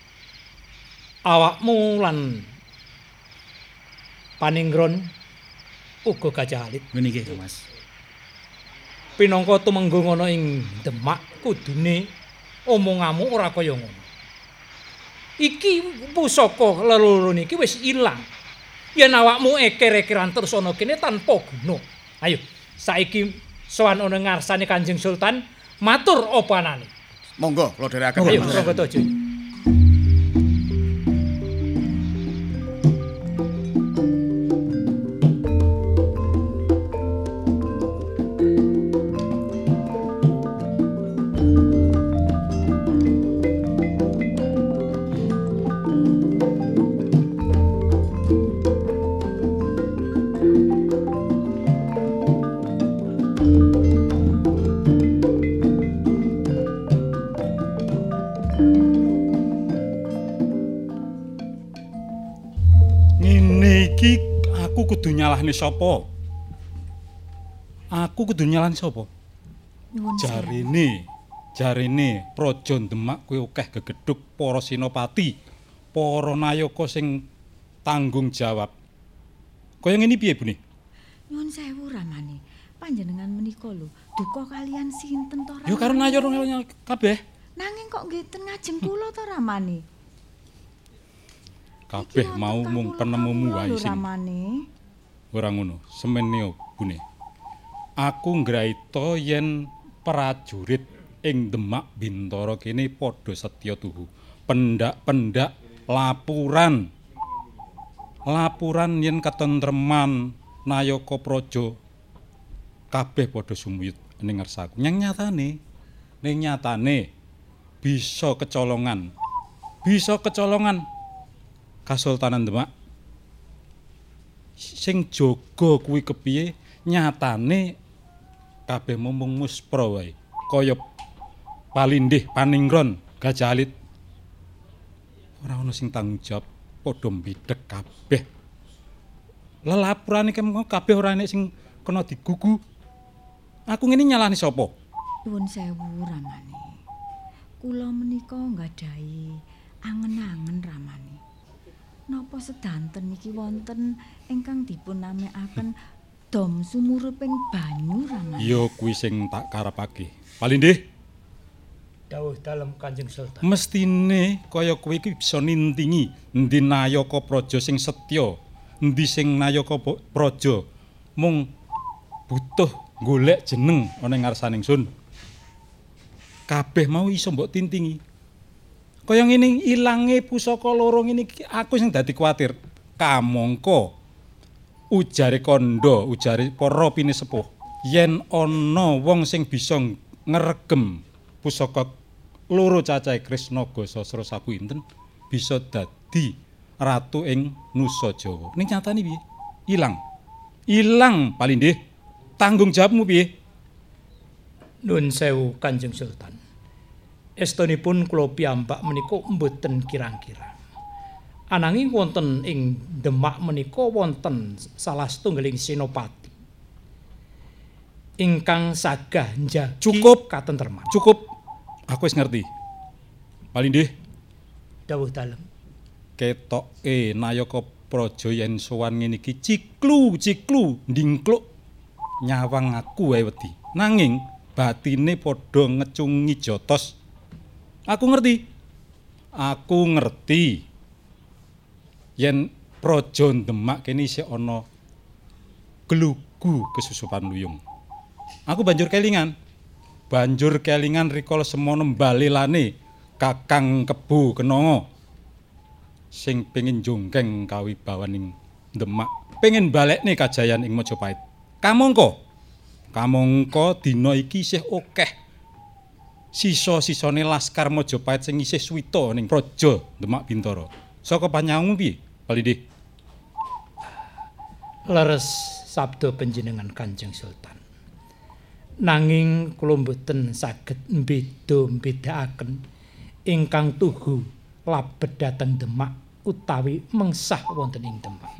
Awakmu lan Paningron uga Gajah Alit. Ngene iki, Mas. Pinangka tumenggung ana ing Demak kudune omonganmu ora kaya ngono. Iki pusaka leloro niki wis ilang. Yen awakmu eker-ekeran terus ana kene tanpa guna. Ayo, saiki sowan ana ngarsane Kanjeng Sultan, matur apa anane. Monggo kula dherekaken. Ayo, monggo tojo. Kudu nyalahne sapa? Aku kudu nyalahne sapa? Jarine Praja Demak kuwi akeh gegedhuk para sinopati, para nayaka sing tanggung jawab. Kaya ngene piye, Bune? Nyuwun sewu Ramane. Panjenengan menika lho, duka kalian sinten to Ramane? Ya karo nayara kabeh. Nanging kok ngeten ngajeng kula to Ramane? Kabeh mau mung penemumu wae sing. Ramane. Ora ngono, semene Bune. Aku ngraita yen prajurit ing Demak Bintara kene padha setya tuhu. Pendak-pendak lapuran yen ketentreman nayaka praja kabeh padha sumuyut ning ngarsaku. Ning nyatane bisa kecolongan. Kasultanan Demak sing jaga kuwi kepiye nyatane kabeh mung muspra wae kaya Palindih Paningron Gajah Alit ora ana sing tanggung jawab padha mbidhek kabeh lelapurane kabeh ora enek sing kena digugu aku ngene nyalahne sapa Nuwun sewu Ramane kula menika nggadahi angen-angen Ramane napa sedanten niki wonten ingkang dipun namekaken dom sumuruping banyu Ramane. Ya kuwi sing tak karepake. Palindih. Dawuh dalem Kanjeng Sultan. Mestine kaya kowe iki bisa nintingi endi nayaka praja sing setya, endi sing nayaka praja mung butuh golek jeneng ana ing ngarsaning sun. Kabeh mau iso mbok tintingi. Kaya ngene ilange pusaka loro ngene iki aku sing dadi kuwatir. Kamangka ujare kandha, ujare para pinisepuh, yen ana wong sing bisa ngregem pusaka loro cacahe Krisnaga Sasra Sapinten bisa dadi ratu ing Nusa Jawa. Ning nyatane piye? Ilang Palindih. Tanggung jawabmu piye? Nuwun sewu Kanjeng Sultan. Estunipun kula piyambak menika mboten kirang-kirang. Ananging wonten ing Demak menika wonten salah setunggaling senopati ingkang sagah njagi cukup katentreman. Cukup. Aku wis ngerti. Palindih. Dawuh dalem. Ketoke nayaka praja yen sowan ngene iki ciklu ndingkluk nyawang aku wae wedi. Nanging batine padha ngecungi jotos. Aku ngerti yen praja Demak kene isih ana glugu kesusupan luyung. Aku banjur kelingan rikala semana mbalelane Kakang Kebo Kenanga sing pengin jonggeng kawibawaning Demak, pengin balekne kajayan ing Majapahit. Kamangka dina iki isih akeh sisa-sisane laskar Majapahit sing isih suwita ning praja Demak Bintara. Saka panyawangmu piye, Palindih? Leres sabda panjenengan Kanjeng Sultan. Nanging kula mboten saged mbeda-bedakaken ingkang tuhu labet dhateng Demak utawi mengsah wonten ing Demak.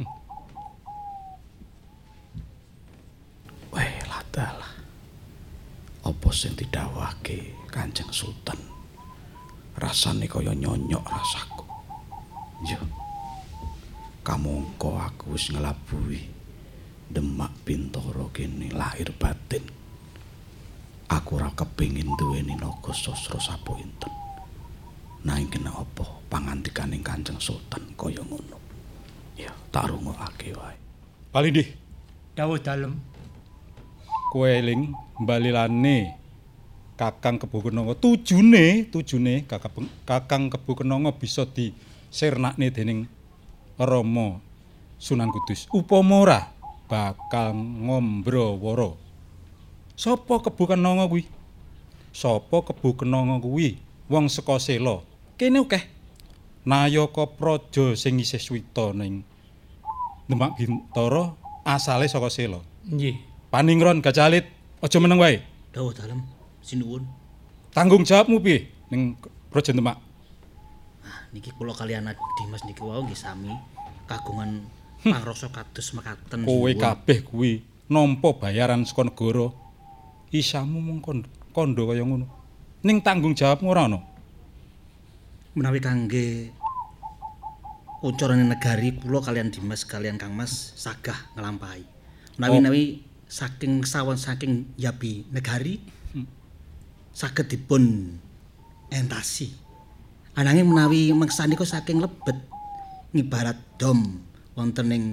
Weh, ladalah. Apa apa sing didhawuhake Kanjeng Sultan? Rasane kaya nyonyok rasaku. Yo. Kamangka aku wis nglabuhi Demak Bintara kene lahir batin. Aku ora kepengin duweni naga sasra sapointen. Nanging kenapa pangantikaning Kanjeng Sultan kaya ngono? Ya, tak rungokake wae. Palindih, Dawuh dalem. kowe eling mbalilane Kakang Kebo Kenanga. Tujune Kakang Kebo Kenanga bisa disirnakne dening Rama Sunan Kudus. Upama ora bakal ngombrawara. Sapa Kebo Kenanga kuwi? Sapa Kebo Kenanga kuwi? Wong saka Sela. Kene akeh. Nayaka praja sing isih suwita ning Demak Bintara asale saka Sela. Nggih. Paningron Gajalit, aja meneng wae. Dawuh dalem, sinuwun. Tanggung jawabmu piye ning Praja Demak? Niki kula kaliyan Dimas niki wau nggih sami kagungan pangrasa kados mekaten. Kowe kabeh kuwi nampa bayaran saka negara. Isamu mung kandha kaya ngono. Ning tanggung jawabmu ora ana. Menawi kangge ucarane negari kula kaliyan Dimas kaliyan Kang Mas sagah nglampahi. Menawi saking sawon saking yabi negari saged dipun entasi. Ananging menawi meksanika saking lebet ngibarat dom wonten ing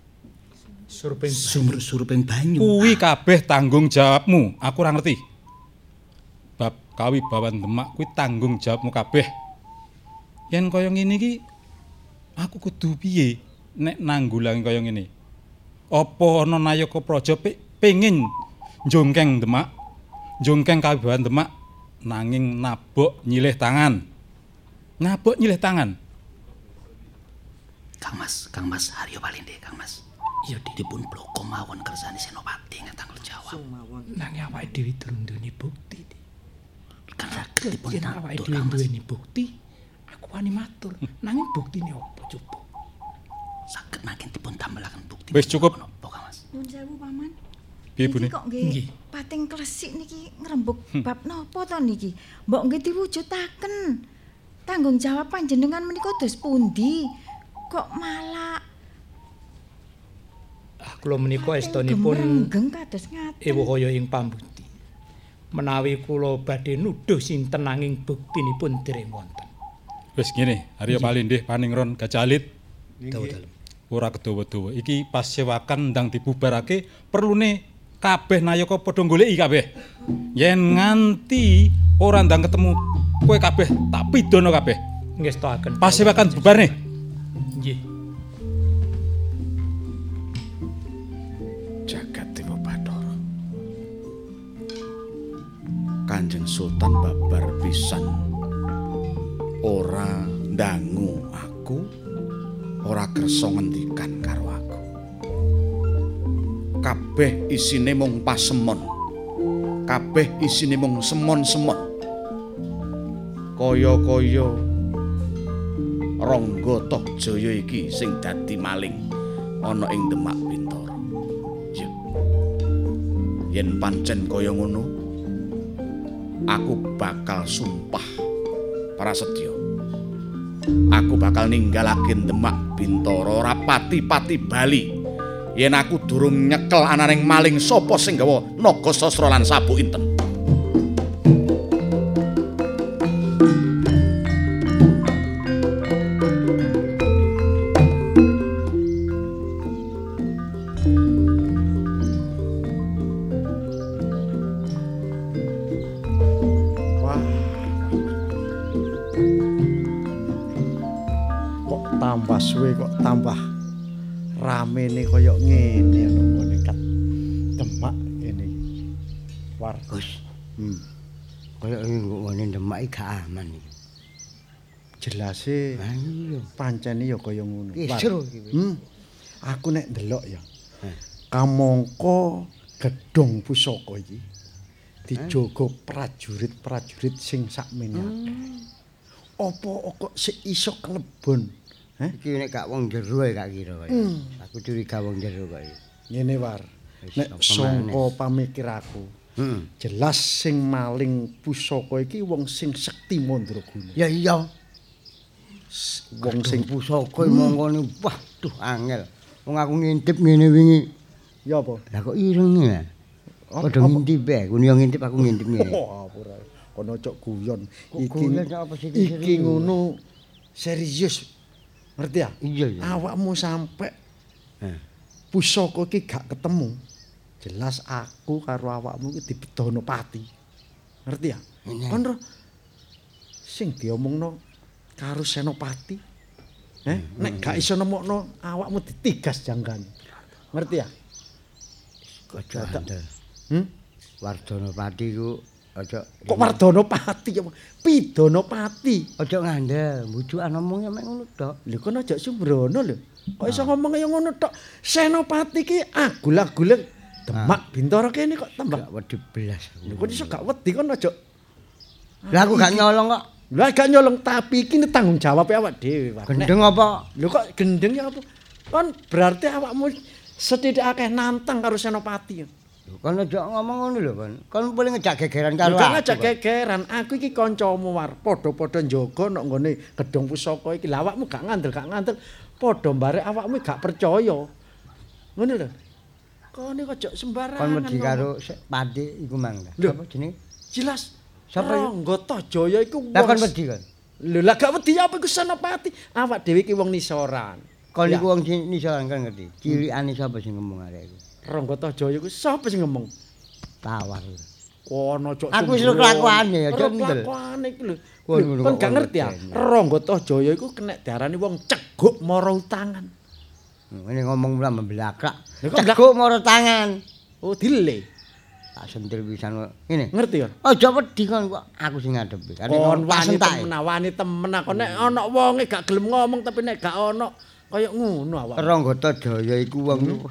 suruping banyu. Kuwi kabeh tanggung jawabmu. Aku ora ngerti. Bab kawibawan Demak kuwi tanggung jawabmu kabeh. Yen kaya ngene iki aku kudu piye nek nanggulangi kaya ngene? Apa ana nayaka praja pengin njongkeng Demak, njongkeng kawibawan Demak nanging nabok nyilih tangan. Nabok nyilih tangan. Kang Mas Haryo Palindih, Kang Mas. Iya dipun bloko mawon kersane Senopati ngatanggung jawab. Nanging awake dhewe durung duweni bukti. Kan saged dipun Yen awake dhewe duweni bukti, aku wani matur. Nanging buktine apa coba? Saged nanging dipun damelaken bukti. Wis cukup. Napa, Kang Mas? Nuwun sewu Paman. Piye Bune? Niki kok nggih pating klesik niki ngrembug bab napa to niki? Mbok nggih diwujudaken. Tanggung jawab panjenengan menika dos pundi? Kok malah Kula menika estunipun genggeng kados ngaten. ewuhaya ing pambuti. Menawi kula badhe nuduh sinten nanging buktinipun dereng wonten. Wis ngene, Haryo Palindih Paningron Gajalit. Dawuh dalem. Ora kedawa-dawa. Iki pas sewakan ndang dibubarake perlune kabeh nayaka padha goleki kabeh. Yen nganti ora ndang ketemu kowe kabeh tak pidana kabeh. Ngestaken. Pas sewakan bubarne. Nggih. Jagat Dewa Bathara. Kanjeng Sultan babar pisan ora ndangu aku, ora kersa ngendikan karo aku. Kabeh isine mung pasemon. Kabeh isine mung semon-semon. Kaya-kaya Rangga Tohjaya iki sing dadi maling ana ing Demak Bintara. Ya. Yen pancen kaya ngono, aku bakal sumpah prasetya. Aku bakal ninggalaken Demak Bintara ora pati-pati bali. Yen aku durung nyekel ananing maling sapa sing gawa naga sastra lan sabuk inten. Tambah suwe kok tambah ramene kaya ngene lho kat Demak ngene. War. Gus. Kaya ngene Demak iki gak aman iki. Jelase iya pancene ya kaya ngono. Isru iki. Aku nek ndelok ya. Kamangka gedhong pusaka iki dijogo prajurit-prajurit sing sakmene. Apa kok sik iso klebon? Iki nek gak wong jero gak kira kaya. Aku curiga wong jero kaya. Ngene war. Nek sangka pamikir aku, Jelas sing maling pusaka iki wong sing sekti mandraguna. Ya iya. Wong sing pusaka mongkone waduh angel. Wong aku ngintip ngene wingi. Ya apa? Lah kok ireng ya? Padha ngintip ae, kun yo ngintip aku ngintip ngene. Oh, ora. Kono cok guyon. Iki ngono serius. Ngerti ya? Iya. Awakmu sampe pusaka iki gak ketemu. Jelas aku karo awakmu iki dibedono pati. Ngerti ya? Kon sing diomongno karo Senopati. Nek gak iso nemokno awakmu ditigas janggane. Ngerti ya? Aja andel. Wardhanapati ku aja kok Wardhanapati ya? Pidonopati. Aja ngandel, mbujukan omongnya mek ngono tok. Lho kon aja sembrono lho. Kok iso ngomong kaya ngono tok. Senopati ki agul-agule Demak Bintara kene kok tambah gak wedi belas. Lho kok iso gak wedi kon aja. Lah aku gak nyolong kok. Lah gak nyolong tapi iki tanggung jawab awak dhewe, Pak. Gendeng apa? Lho kok gendeng ya apa? Kon berarti awakmu sethithik akeh nantang karo Senopati. Kon aja ngomong ngono lho, Kon. Kon boleh ngejak gegeran karo aku. Bukan ngejak gegeran, aku iki kancamu war, padha-padha njaga nek nggone gedhong pusaka iki. Lah awakmu gak ngandel, padha barek awakmu gak percaya. Ngono lho. Kon iki aja sembarangan. Kon wedi karo Pati iku mang. Apa jenenge? Jelas. Sapa iku? Anggota Jaya iku wong. Lah kon wedi kon. Lho lah gak wedi apa iku Senopati. Awak dhewe iki wong nisoran. Kon iku wong nisoran kan ngerti. Cilikane sapa sing ngomong arek iku? Ranggata Jaya iku sapa sing ngomong? Tawar. Kono cok. Aku wis kelakuane ya, cok ndel. Kelakuane iki lho. Kon gak ngerti ya. Ranggata Jaya iku kena diarani wong ceguk mara utangan. Ngene ngomong ora membelakrak. Ceguk mara tangan. Oh, dile. Tak sentil pisan kok. Ngene. Ngerti ya? Aja wedi kon kok aku sing ngadepi. Kon wani temen aku nek ana wonge gak gelem ngomong tapi nek gak ana kaya ngono awak. Ranggata Jaya iku wong aduh.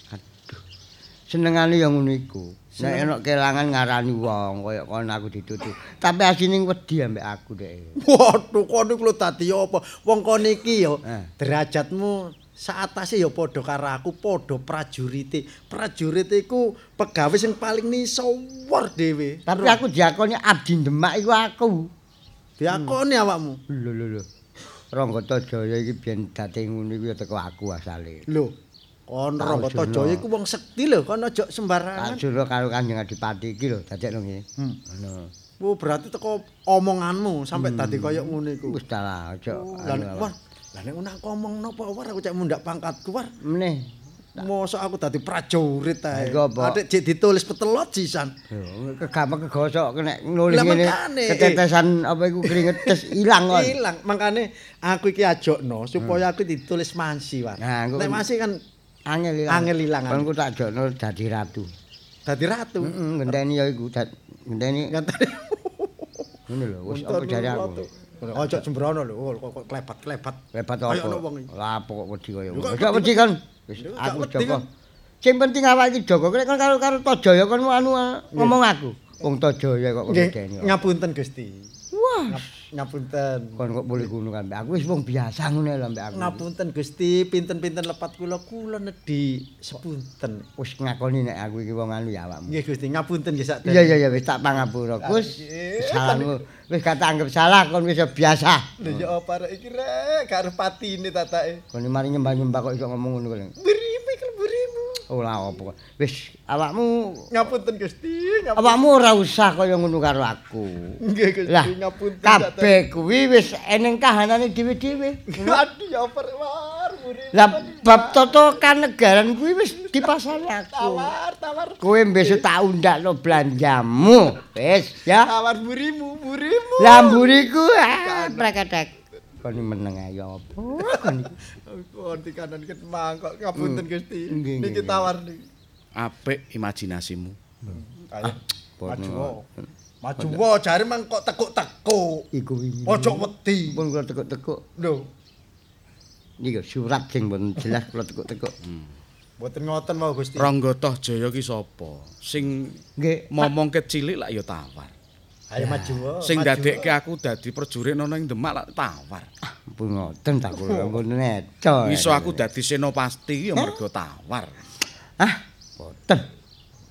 Senengane ya ngono iku. Nek ana kelangan ngarani wong kaya kon aku ditutu. Tapi asine wedi ambek aku dek. Waduh, kon iku lho dadi apa? Wong kon iki ya derajatmu saatase ya padha karo aku, padha prajurite. Prajurite iku pegawe sing paling nisawar dhewe. Tapi aku diakoni abdi Demak iku aku. Diakoni awakmu. Lho. Ranggata Jaya iki biyen dadi ngono iku ya teko aku asale. Lho, kon Ranggata Jaya iku wong sekti lho, kon aja sembarangan. Tak juro karo Kanjeng Adipati iki lho, dadekno ngene. Ngono. Oh, berarti teko omonganmu sampai tadi kaya ngono iku. Wis ta lah, aja. Lah nek ngono aku omong napa war aku cek mundak pangkatku war. Meneh. Mosok aku dadi prajurit ae. Adik jek ditulis petelot sisan. Kegampang kegosok nek nulis ngene. Ketetesan apa iku keringetes ilang kon. Ilang. Makane aku iki ajokno supaya aku ditulis mansi war. Nek mansi kan angel ilang. Kon ku tak ajokno dadi ratu. Dadi ratu. Ngenteni ya iku ngenteni. Ngono lho, wis apa jare aku. Ojo sembrono lho, kok klebat-klebat. Klebat apa? Lah apa kok wedi kaya ngono. Gak wedi kan. Wis aku jaga. Sing penting awak iki jaga. Nek kon karo Tojaya kon ngomong aku. Wong Tojaya kok ngedeni. Ngapunten Gusti. Wah, ngapunten. Kon kok boleh ngono kan. Aku wis wong biasa ngono lho mbek aku. Ngapunten Gusti, pinten-pinten lepat kula nedhi sepunten. Wis ngakoni nek aku iki wong anu ya awakmu. Nggih Gusti, ngapunten nggih sak. Iya wis tak pangapura. Gus. Salahmu wis gak tak anggap salah kon wis biasa. Lho ya apa rek iki rek, gak arep patine tatake. Kon mari nyembah-nyembah kok iso ngomong ngono kok. Berimu. Oh lah apa. Wis awakmu ngapunten Gusti, awakmu ora usah kaya ngono karo aku. Nggih Gusti, ngapunten. Kabeh kuwi wis eneng kahanane dhewe-dhewe. Aduh ya apa rek war. Lah bab tata kanegaran kuwi wis dipasani aku. Tawar. Kowe besok tak undakno belanjamu. Wis ya. Tawar burimu. Lah mburiku preketek. Kon meneng ayo apa kon iki. Kon di kanan ket mangkok ngapunten Gusti. Niki tawar niki. Apik imajinasimu. Maju wae jare mang kok tekuk-tekuk. Iku wingi. Ojo wedi. Pun kula tekuk-tekuk. Lho. Niki surat sing mboten jelas kula tekuk-tekuk. Mboten ngoten mau Gusti. Ranggata Jaya ki sapa? Sing momongke cilik lak ya tawar. Ayo maju wae. Sing dadekke aku dadi prajurit ana ing Demak lak tawar. Pun ngoten tak kula pun neco. Iso aku dadi senopati ya mergo tawar. Boten.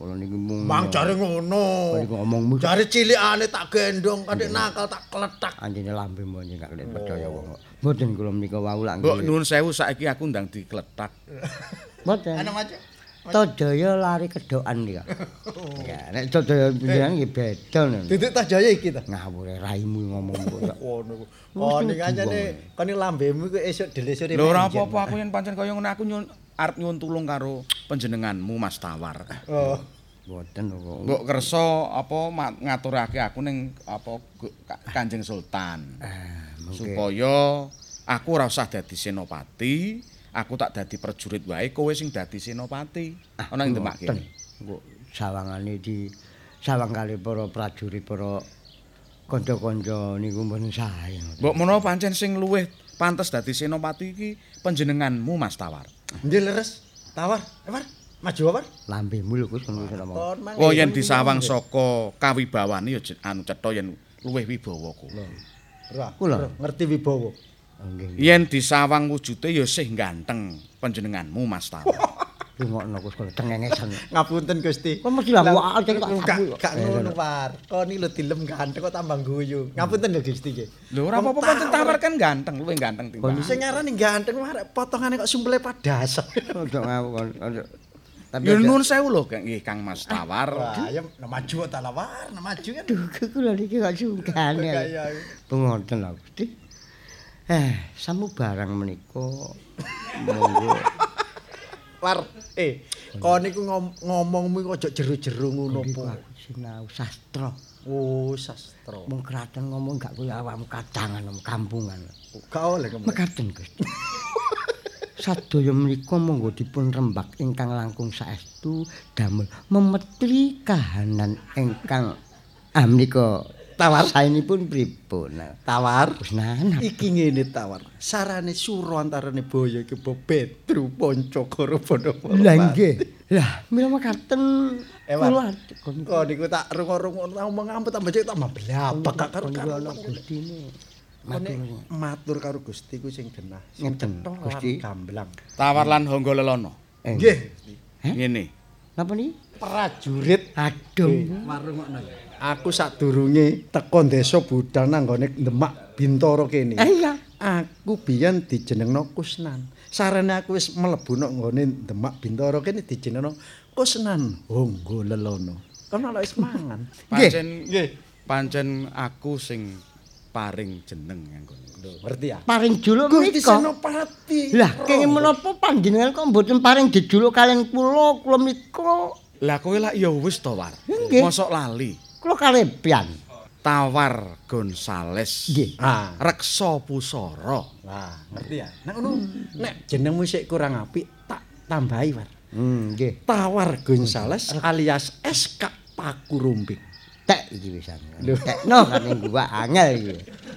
kula niki mung. Mang jare ngono. Niku ngomongmu. Jare cilikane tak gendong, kadek nakal tak kletak. Anjene lambemu anjing gak kelek percaya wong. Mboten kula menika wau lak Mbok nuwun sewu saiki aku ndang dikletak. Mboten. Ana maju. Tojaya lari kedokan iki. Ya, nek Tojaya pindahan iki beda nek. Titik Tojaya iki ta. Ngawur raimu ngomong kok. Ngono ku. Oh ning anjane kene lambemu ku esuk delesure. Lho ora apa-apa aku yen pancen kaya ngene aku arep nyuwun tulung karo panjenenganmu Mas Tawar. Oh. Mboten kok. Mbok kersa apa ngaturake aku ning apa Kanjeng Sultan. Supaya aku ora usah dadi senopati. Aku tak dadi prajurit wae, kowe sing dadi senopati. Ana ing Demak kene. Engko sawangane di sawang kali para prajurit, para kanca-kanca niku mboten sae. Mbok menawa pancen sing luwih pantes dadi senopati iki panjenenganmu Mas Tawar. Nggih leres. Tawar. Maju apa? Lambemu lho Gus ngono ngomong. Oh yen disawang saka kawibawane ya anu cetha yen luwih wibawa kuwi. Kula ngerti wibawa. Yen disawang wujude ya sih ganteng panjenenganmu Mas Tawar. Rungokno Gus kok cengengesan. Ngapunten Gusti. Kok mesti lah wae cek gak ngono War. Kok ni lho dilem ganteng kok tambah guyu. Ngapunten lho Gusti nggih. Lho ora apa-apa pancen Tawar kan ganteng, luwih ganteng timbang. Sing ngarani ganteng War potongane kok sumpele padas. Ojo ngawur. Tapi nuwun sewu lho nggih Kang Mas Tawar. Wah, ya maju ta War, maju kan. Duh kula niki kok sungkan. Ngoten lho Gusti. Samu barang menika monggo. War, kok niku ngomongmu kok aja jero-jero ngono po. Sinau sastra. Oh, sastra. Mung kraten ngomong gak kaya awakmu kadangan kampungan. Gak oleh ngomong. Mekaten Gusti. Sadaya menika monggo dipun rembak ingkang langkung saestu damel memetri kahanan ingkang menika Tawar saenipun pripun? Tawar. Wis nanap. Iki ngene Tawar. Sarane sura antarane boyo iki Petru Pancakara padha. Lah nggih. Lah mila mekaten kula kok niku tak rungo-rungo ngomong ampun tambah cek tambah blabak gak karo Gustine. Matur karo Gusti ku sing genah. Ngeten Gusti gamblang. Tawar lan Hangga Lelono. Nggih. Ngene. Napa niki? Prajurit. Aduh. Marungokno. Aku sadurunge teko desa Budal nang nggone Demak Bintara kene. Iya. Aku biyen dijenengno Kusnan. Sarene aku wis mlebu nang nggone Demak Bintara kene dijenengno Kusnan Hangga Lelono. Kono lho wis mangan. Pancen aku sing paring jeneng nganggo. Ngerti ya? Paring juluk Gusti menika. Senopati. Lah kenging menapa panjenengan kok mboten paring dijuluk kalian kula menika? Lah kowe lak ya wis to War. Mosok lali. Kula kalebian. Tawar Gonzales. Nggih. Reksa Pusara. Wah, ngerti ya? Nek ngono nek jenengmu sik kurang apik tak tambahi War. Nggih. Tawar Gonzales alias SK Pakurumpik. Tek iki wisan. Tekno kan ning gua angel iki.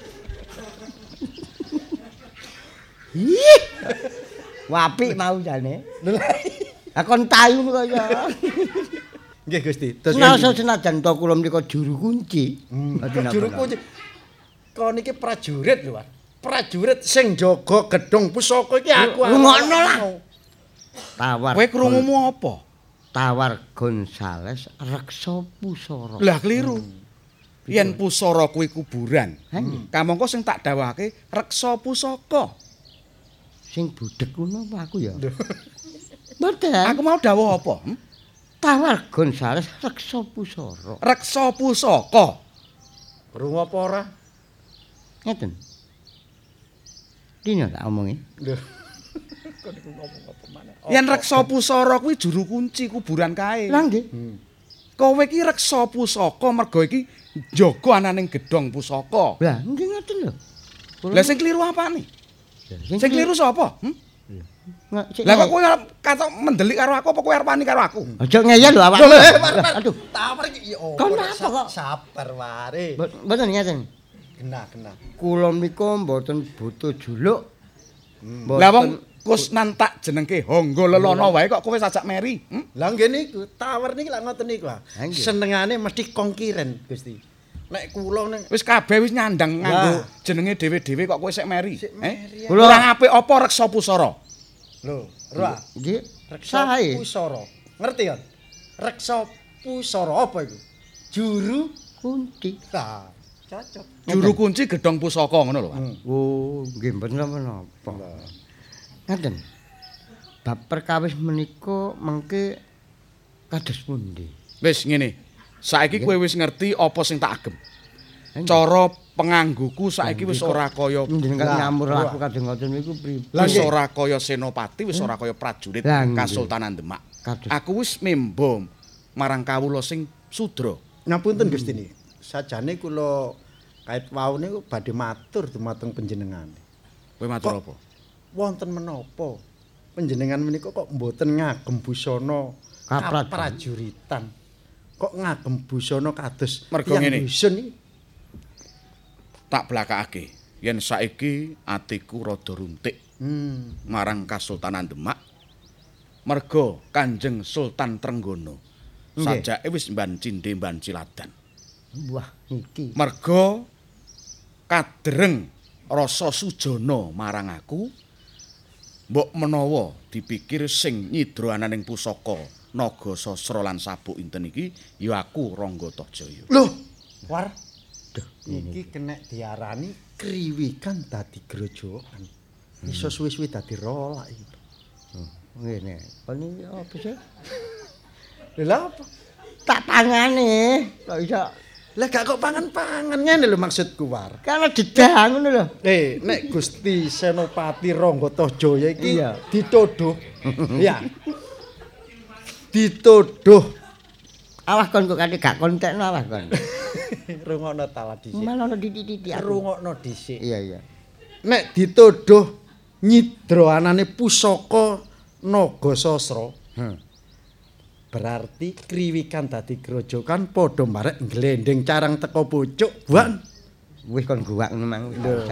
Wapik mau jane. Lah kon tayu kaya. Nggih Gusti. Nasa senajan to kula menika juru kunci. Juru kunci. Kok niki prajurit lho, Pak. Prajurit sing jaga gedung pusaka iki aku. Ngono lah. Tawar. Kowe krungumu apa? Tawar Gonzales Reksa Pusara. Lah keliru. Yen pusara kuwi kuburan. Kamangka sing tak dawuhake reksa pusaka. Sing budhek ngono apa aku ya? Mboten. Aku mau dawuh apa? Tawar Gonzales Reksa Pusara. Reksa pusaka. Krungu apa ora? Ngeten. Dino tak omongi. Lho. Kok niku ngomong apa maneh? Yen reksa pusara kuwi juru kunci kuburan kae. Lah nggih. Kowe iki reksa pusaka mergo iki njaga ananing gedhong pusaka. Lah nggih ngoten lho. Lah sing kliru apane? Sing kliru sapa? Lah kok kowe katok mendelik karo aku apa kowe arep wani karo aku? Aja ngeyel lho awak. Aduh, tawar iki yo. Kon apa kok? Sabar ware. Mboten ngeten. Genah. Kula menika mboten butuh juluk. Lah wong Kusnan tak jenengke Hangga Lelono wae kok kowe sajak meri. Lah nggih niku, tawar niki lak ngoten niku. Senengane mesti kongkiren, Gusti. Nek kula ning wis kabeh wis nyandang nganggo jenenge dhewe-dhewe kok kowe sik meri. Kula ora apik apa reksa pusara? Lho, Ra. Nggih, Reksa sae. Pusara. Ngerti ya? reksa pusara apa iku? Juru kunci. Lah, cocok. Juru kunci gedhong pusaka ngono lho, Pak. Oh, nggih mboten napa-napa. Ngaten. Bab perkawis menika mengke kados pundi? Wis ngene. Saiki kowe wis ngerti apa sing tak agem. Cara pengangguku saiki wis ora kaya Njenengan nyamur laku kadang ngoten niku pripun? wis ora kaya senopati, wis ora kaya prajurit Kasultanan Demak. Aku wis membo marang kawula sing sudra. Ngapunten Gusti niki. Sajane kula kait wau niku badhe matur dumateng panjenengan. Kowe matur apa? Wonten menapa panjenengan menika kok mboten ngagem busana kaprajuritan? Kok ngagem busana kados Mergo ngene. dusun iki? Tak blakake yen saiki atiku rada runtik marang Kasultanan Demak merga Kanjeng Sultan Trenggono sajake wis mban cindhe mban ciladan. Wah, niki. Merga kadreng rasa sujana marang aku mbok menawa dipikir sing nyidra ananing pusaka naga sasra lan sabuk inten iki ya aku Ranggatajaya. Loh, War. Iki kena diarani kriwikan dadi grojokan. Iso suwi-suwi dadi rolak iki. Ngene. Kon iki apa sih? Lha apa? Tak pangane. Kok iso Lah gak kok pangan-pangan ngene lho maksudku War. kana dedah ngono lho. Nek Gusti Senopati Ranggatajaya iki Iya. dituduh. Ya. Dituduh. Awas kon kok kate gak kontekno awas kon. Rungokno tala dhisik. Malah ono titik-titik aku. Rungokno dhisik. Iya. Nek dituduh nyidra anane pusaka naga sasra. Berarti kriwikan dadi grojokan padha marek glendeng carang teko pucuk, Wan. Wis kon guwak ngono mang.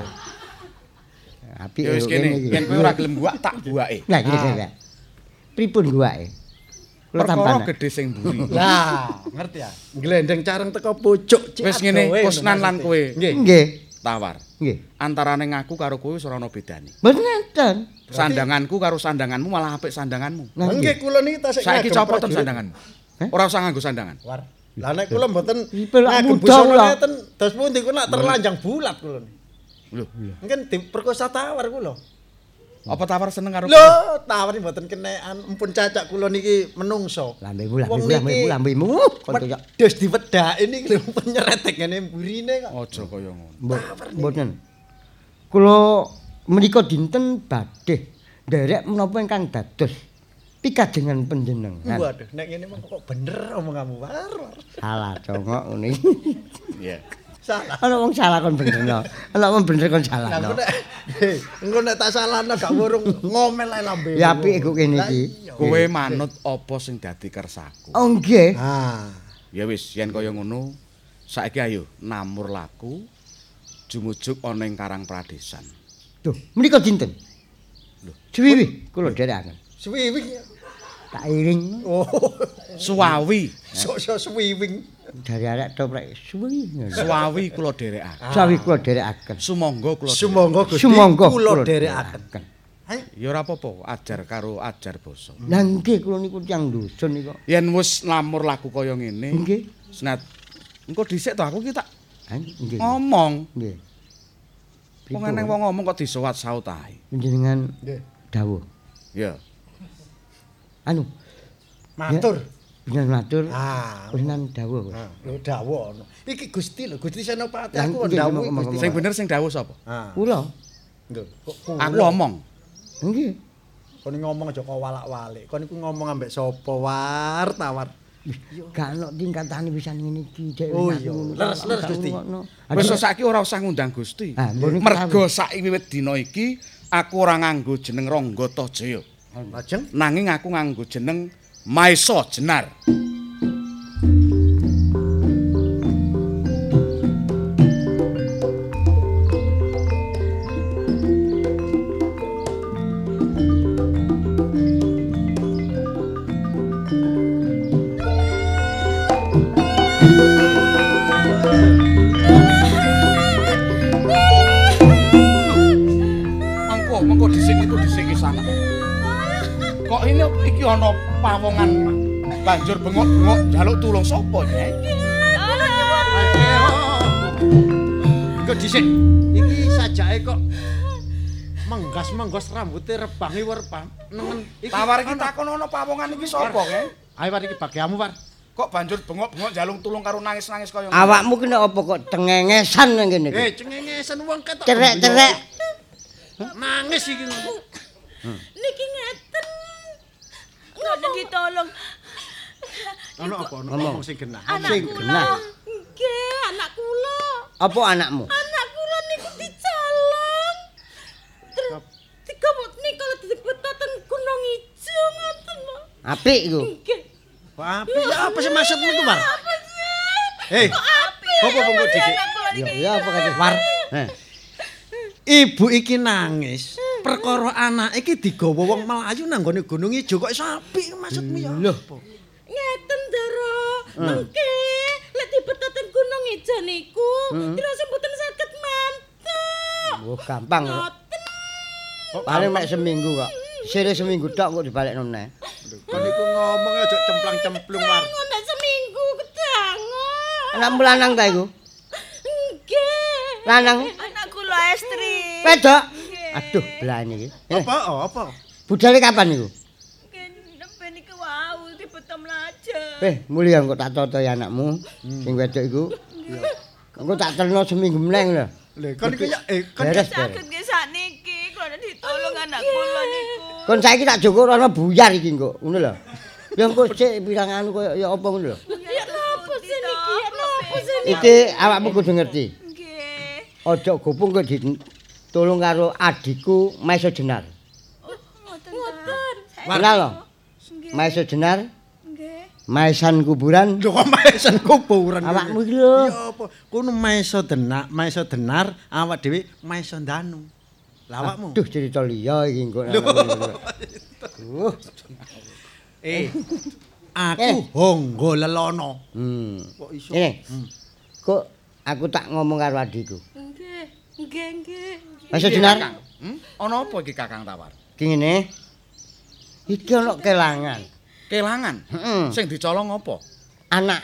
Apik Ya wis kene, yen kowe ora gelem guwak tak guwake. Lah iki. Pripun guwake? Kula Perkara tampan. gedhe sing mburi. Lah, ngerti ya? Glendeng carang teko pucuk. Wis ngene, Kusnan lan kowe Nggih. tawar. Nggih. Antarane ngaku karo kowe wis ora ana bedane. Mboten enten. Sandanganku karo sandanganmu malah apik sandanganmu. Nggih kula niki tasik Saiki ngagem copoten prajurit. sandanganmu. Ora usah nganggo sandangan. War. Lah nek kula mboten Ipil ngagem muda busana kula. ngeten dos pundi kula terlanjang bulat kula niki. Lho, Mungkin diperkosa tawar kula. apa tawar seneng karo Lho, tawar mboten kenekan. Empun cacak kula niki menungso. Lambemu. Kon wedhus diwedhaki niki lho penyeretek ngene mburine kok. Aja kaya ngono. Mboten. Kula menika dinten badhe nderek menapa ingkang dados pikadengan panjenengan. Waduh, nek ngene mah kok bener omonganmu War. Salah congok ngene iki. Iya. Salah. Ana wong salah kon benerno. Ana wong bener kon Lah salahno. engko nek tak salahno gak wurung ngomel ae lambe. Ya apik iku kene iki. Kowe manut apa sing dadi kersaku. Oh nggih. Ah. Ya wis, yen kaya ngono, saiki ayo namur laku jumujuk ana ing Karang Pradesan. Duh, menika dinten. Lho, suwi kula dherekaken. Swiwing. Tak iring. Oh, Suwawi. sok-sok swiwing. Dari arek toprek suwi. Suwawi kula dherekaken. Sawi kula dherekaken. Sumangga kula. Sumangga Gusti Sumangga kula dherekaken. Ya ora apa-apa, ajar karo ajar basa. Lah nggih kula niku tiyang dusun niku. Yen wis namur laku kaya ngene, Nggih. senat engko dhisik to aku ki tak Nggih. ngomong. Nggih. Wong eneng wong ngomong kok disewat saut ae. Panjenengan Nggih. dawuh. Ya. Anu, Matur. bener matur. Ah, Panjenengan dawuh. lho dawuh ono. Iki Gusti lho, Gusti Senopati Lah, aku nggih, dawuh ngomong- Gusti. Sing bener sing dawuh sapa? Ah. Kula. Lho, kok Aku omong. Nggih. kon ngomong aja kok walak-walik. Kon iku ngomong ambek sapa War tawar. Gak ono tingkatane pisan ngene iki dhewe. Oh iya, leres-leres, Gusti. Wis saiki ora usah ngundang Gusti. Ah, mbok niku Mergo saiki wiwit dina iki aku ora nganggo jeneng Ranggatajaya. Lajeng Nanging aku nganggo jeneng Maesa Jenar. Mengko dhisik iki sana. Kok ini iki ana pawongan banjur bengok-bengok njaluk tulung sapa, Nyai? Kok dhisik. Iki sajake kok menggas-menggos rambuté rebangi werpam nengen iki. Tawar iki takon ana pawongan iki sapa, Nyai? Ayo war iki bagianmu, War. Kok banjur bengok-bengok njaluk tulung karo nangis-nangis kaya ngono. Awakmu ki nek apa kok cengengesan nang kene iki? Cengengesan wong ketok. Cerek-cerek. Nangis iki. Niki ngeten. Ngono ditolong. Ono apa? Ngomong sing genah. Sing genah. Nggih, anak kula. Apa anakmu? Anak kula niku dicolong. Terus niku dipetoten Gunung Ijo ngoten. Apik iku. Nggih. Apik ya apa sih maksudmu iku, War? Hei. Apa kok dikit? Ya apa kate War? Ibu iki nangis. Perkara anak iki digawa wong Melayu nang gone Gunung Ijo kok iso apik maksudmu ya? Lho. Ngeten, Dara. Mengke lek dipetoten Gunung Ijo niku, terus mboten saged mantuk. Oh, gampang kok. Paling mek seminggu kok. Sire seminggu tok kok dibalekno meneh. Kok niku ngomong aja cemplang-cemplung, War. Ngono seminggu kedangan. Anakmu lanang ta iku? Nggih. Lanang. Anak kula estri. Wedok. Aduh, belane iki. Apa? Budale kapan iku? Nembe niku wau dibeto mlajar. Mulya kok tak totoy anakmu sing wedok iku. Engko tak terno seminggu meneh lho. Lho, kon iki ya kon saged nggih sakniki kula ditolong anak kula niku. Kon saiki tak joko ana buyar iki engko, ngono lho. Ya engko sik pirang anu koyo ya apa ngono lho. Ya napa sih niki? Ya napa sih? Iki awakmu kudu ngerti. Nggih. Aja gopung kok ditolong karo adikku Maiso Jenar. Ngoten. Kenal lho. Maiso Jenar. Nggih. Maisan kuburan. Lho kok maisan kuburan. Awakmu iki lho. Ya apa? Kuwi Maiso Denar, awak dhewe Maiso Danu. Lah awakmu. Duh cerita liya iki engko. Aku Honggo Lelono. Kok iso? Kok aku tak ngomong karo adikku. Nggih. Maiso Jenar. Ana apa iki Kakang Tawar? Ki ngene. Iki ana kelangan. Kelangan? Sing dicolong apa? Anak.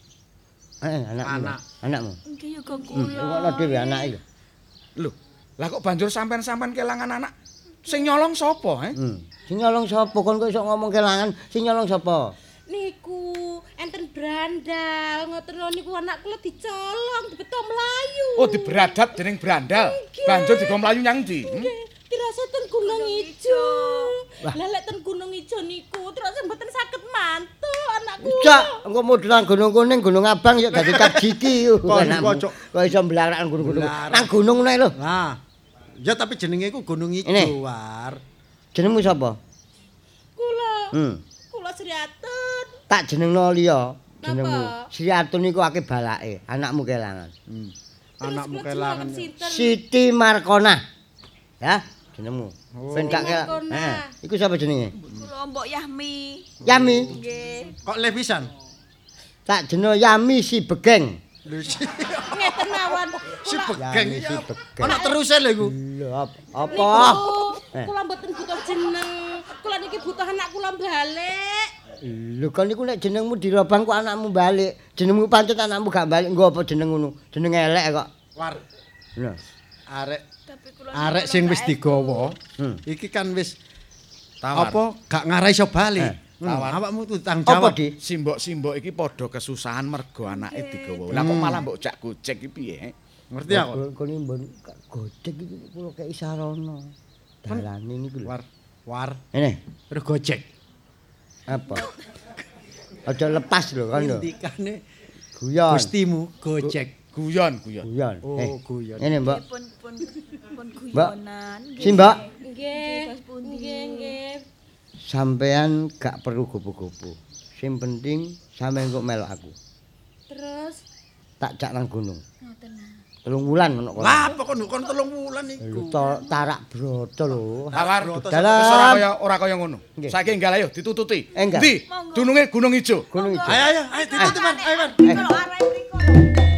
Anakmu. Nggih ya kok kula. Ana dhewe anake lho. Lho, lah kok banjur sampean-sampean kelangan anak? Sing nyolong sapa, Sing nyolong sapa? Kon kok iso ngomong kelangan? Sing nyolong sapa? Niku enten brandal, ngoten niku anak kula dicolong, dibeto mlayu. Oh, diberadat dening brandal. Banjur digo mlayu nyang ndi? Dirasa ten Gunung Ijo. Lah lek ten Gunung Ijo niku terus mboten saged mantuk anak kula. Cak, engko modelan Gunung Kuning, Gunung Abang ya dadi Kapjiki. Kok iso mblarak gunung-gunung. Nang gunung nek lho. Nah. Ya tapi jenenge iku Gunung Ijo, War. Jenengmu sapa? Kula. Kula Sri Atun. Tak jenengno liya. Jenengmu Sri Atun iku akeh balake, anakmu kelangan. Anakmu kelangan. Siti Markona. Ya, jenengmu. Ben gak iku sapa jenenge? Kula Mbok Yami. Yami. Nggih. Kok le pisan? Tak jeneng Yami si Begeng. Ngeten mawon. Si Begeng iki. Ana teruse lho iku. Lho apa? Kula mboten butuh jeneng. Kula niki butuh anak kula balik. Lho kan niku nek jenengmu dirobang kok anakmu balik. Jenengmu pancet anakmu gak balik. Nggo apa jeneng ngono? Jeneng elek kok. War. Lho. Arek sing wis digawa. Iki kan wis apa gak ngarai iso bali. Awakmu kudu tanggung jawab. Simbok-simbok iki padha kesusahan mergo anake digawa. Lah kok malah mbok jak gojek iki piye? Ngerti aku. Kene mbon gojek iki kula kei sarana. Dalane niku lho. War. Ngene. Terus gojek. Apa? Aja lepas lho kan lho. Ndikane guyon. Gustimu gojek. Guyon. Oh, guyon. Ngene, Mbak. Pun guyonan. Si Mbak. Nggih. Sampean gak perlu gopo-gopo. Sing penting sampean kok melok aku. Terus tak jak nang gunung. ngoten. 3 wulan ono kono. Lah apa kon 3 wulan iku. Tarak broto lho. Tawar. Dalam Ora kaya ngono. Saiki enggal ayo ditututi. Enggal. Ndi? Dununge Gunung Ijo. Gunung Ijo. Ayo ditututi, Mas. Ayo, Mas. Kalau arah mriko.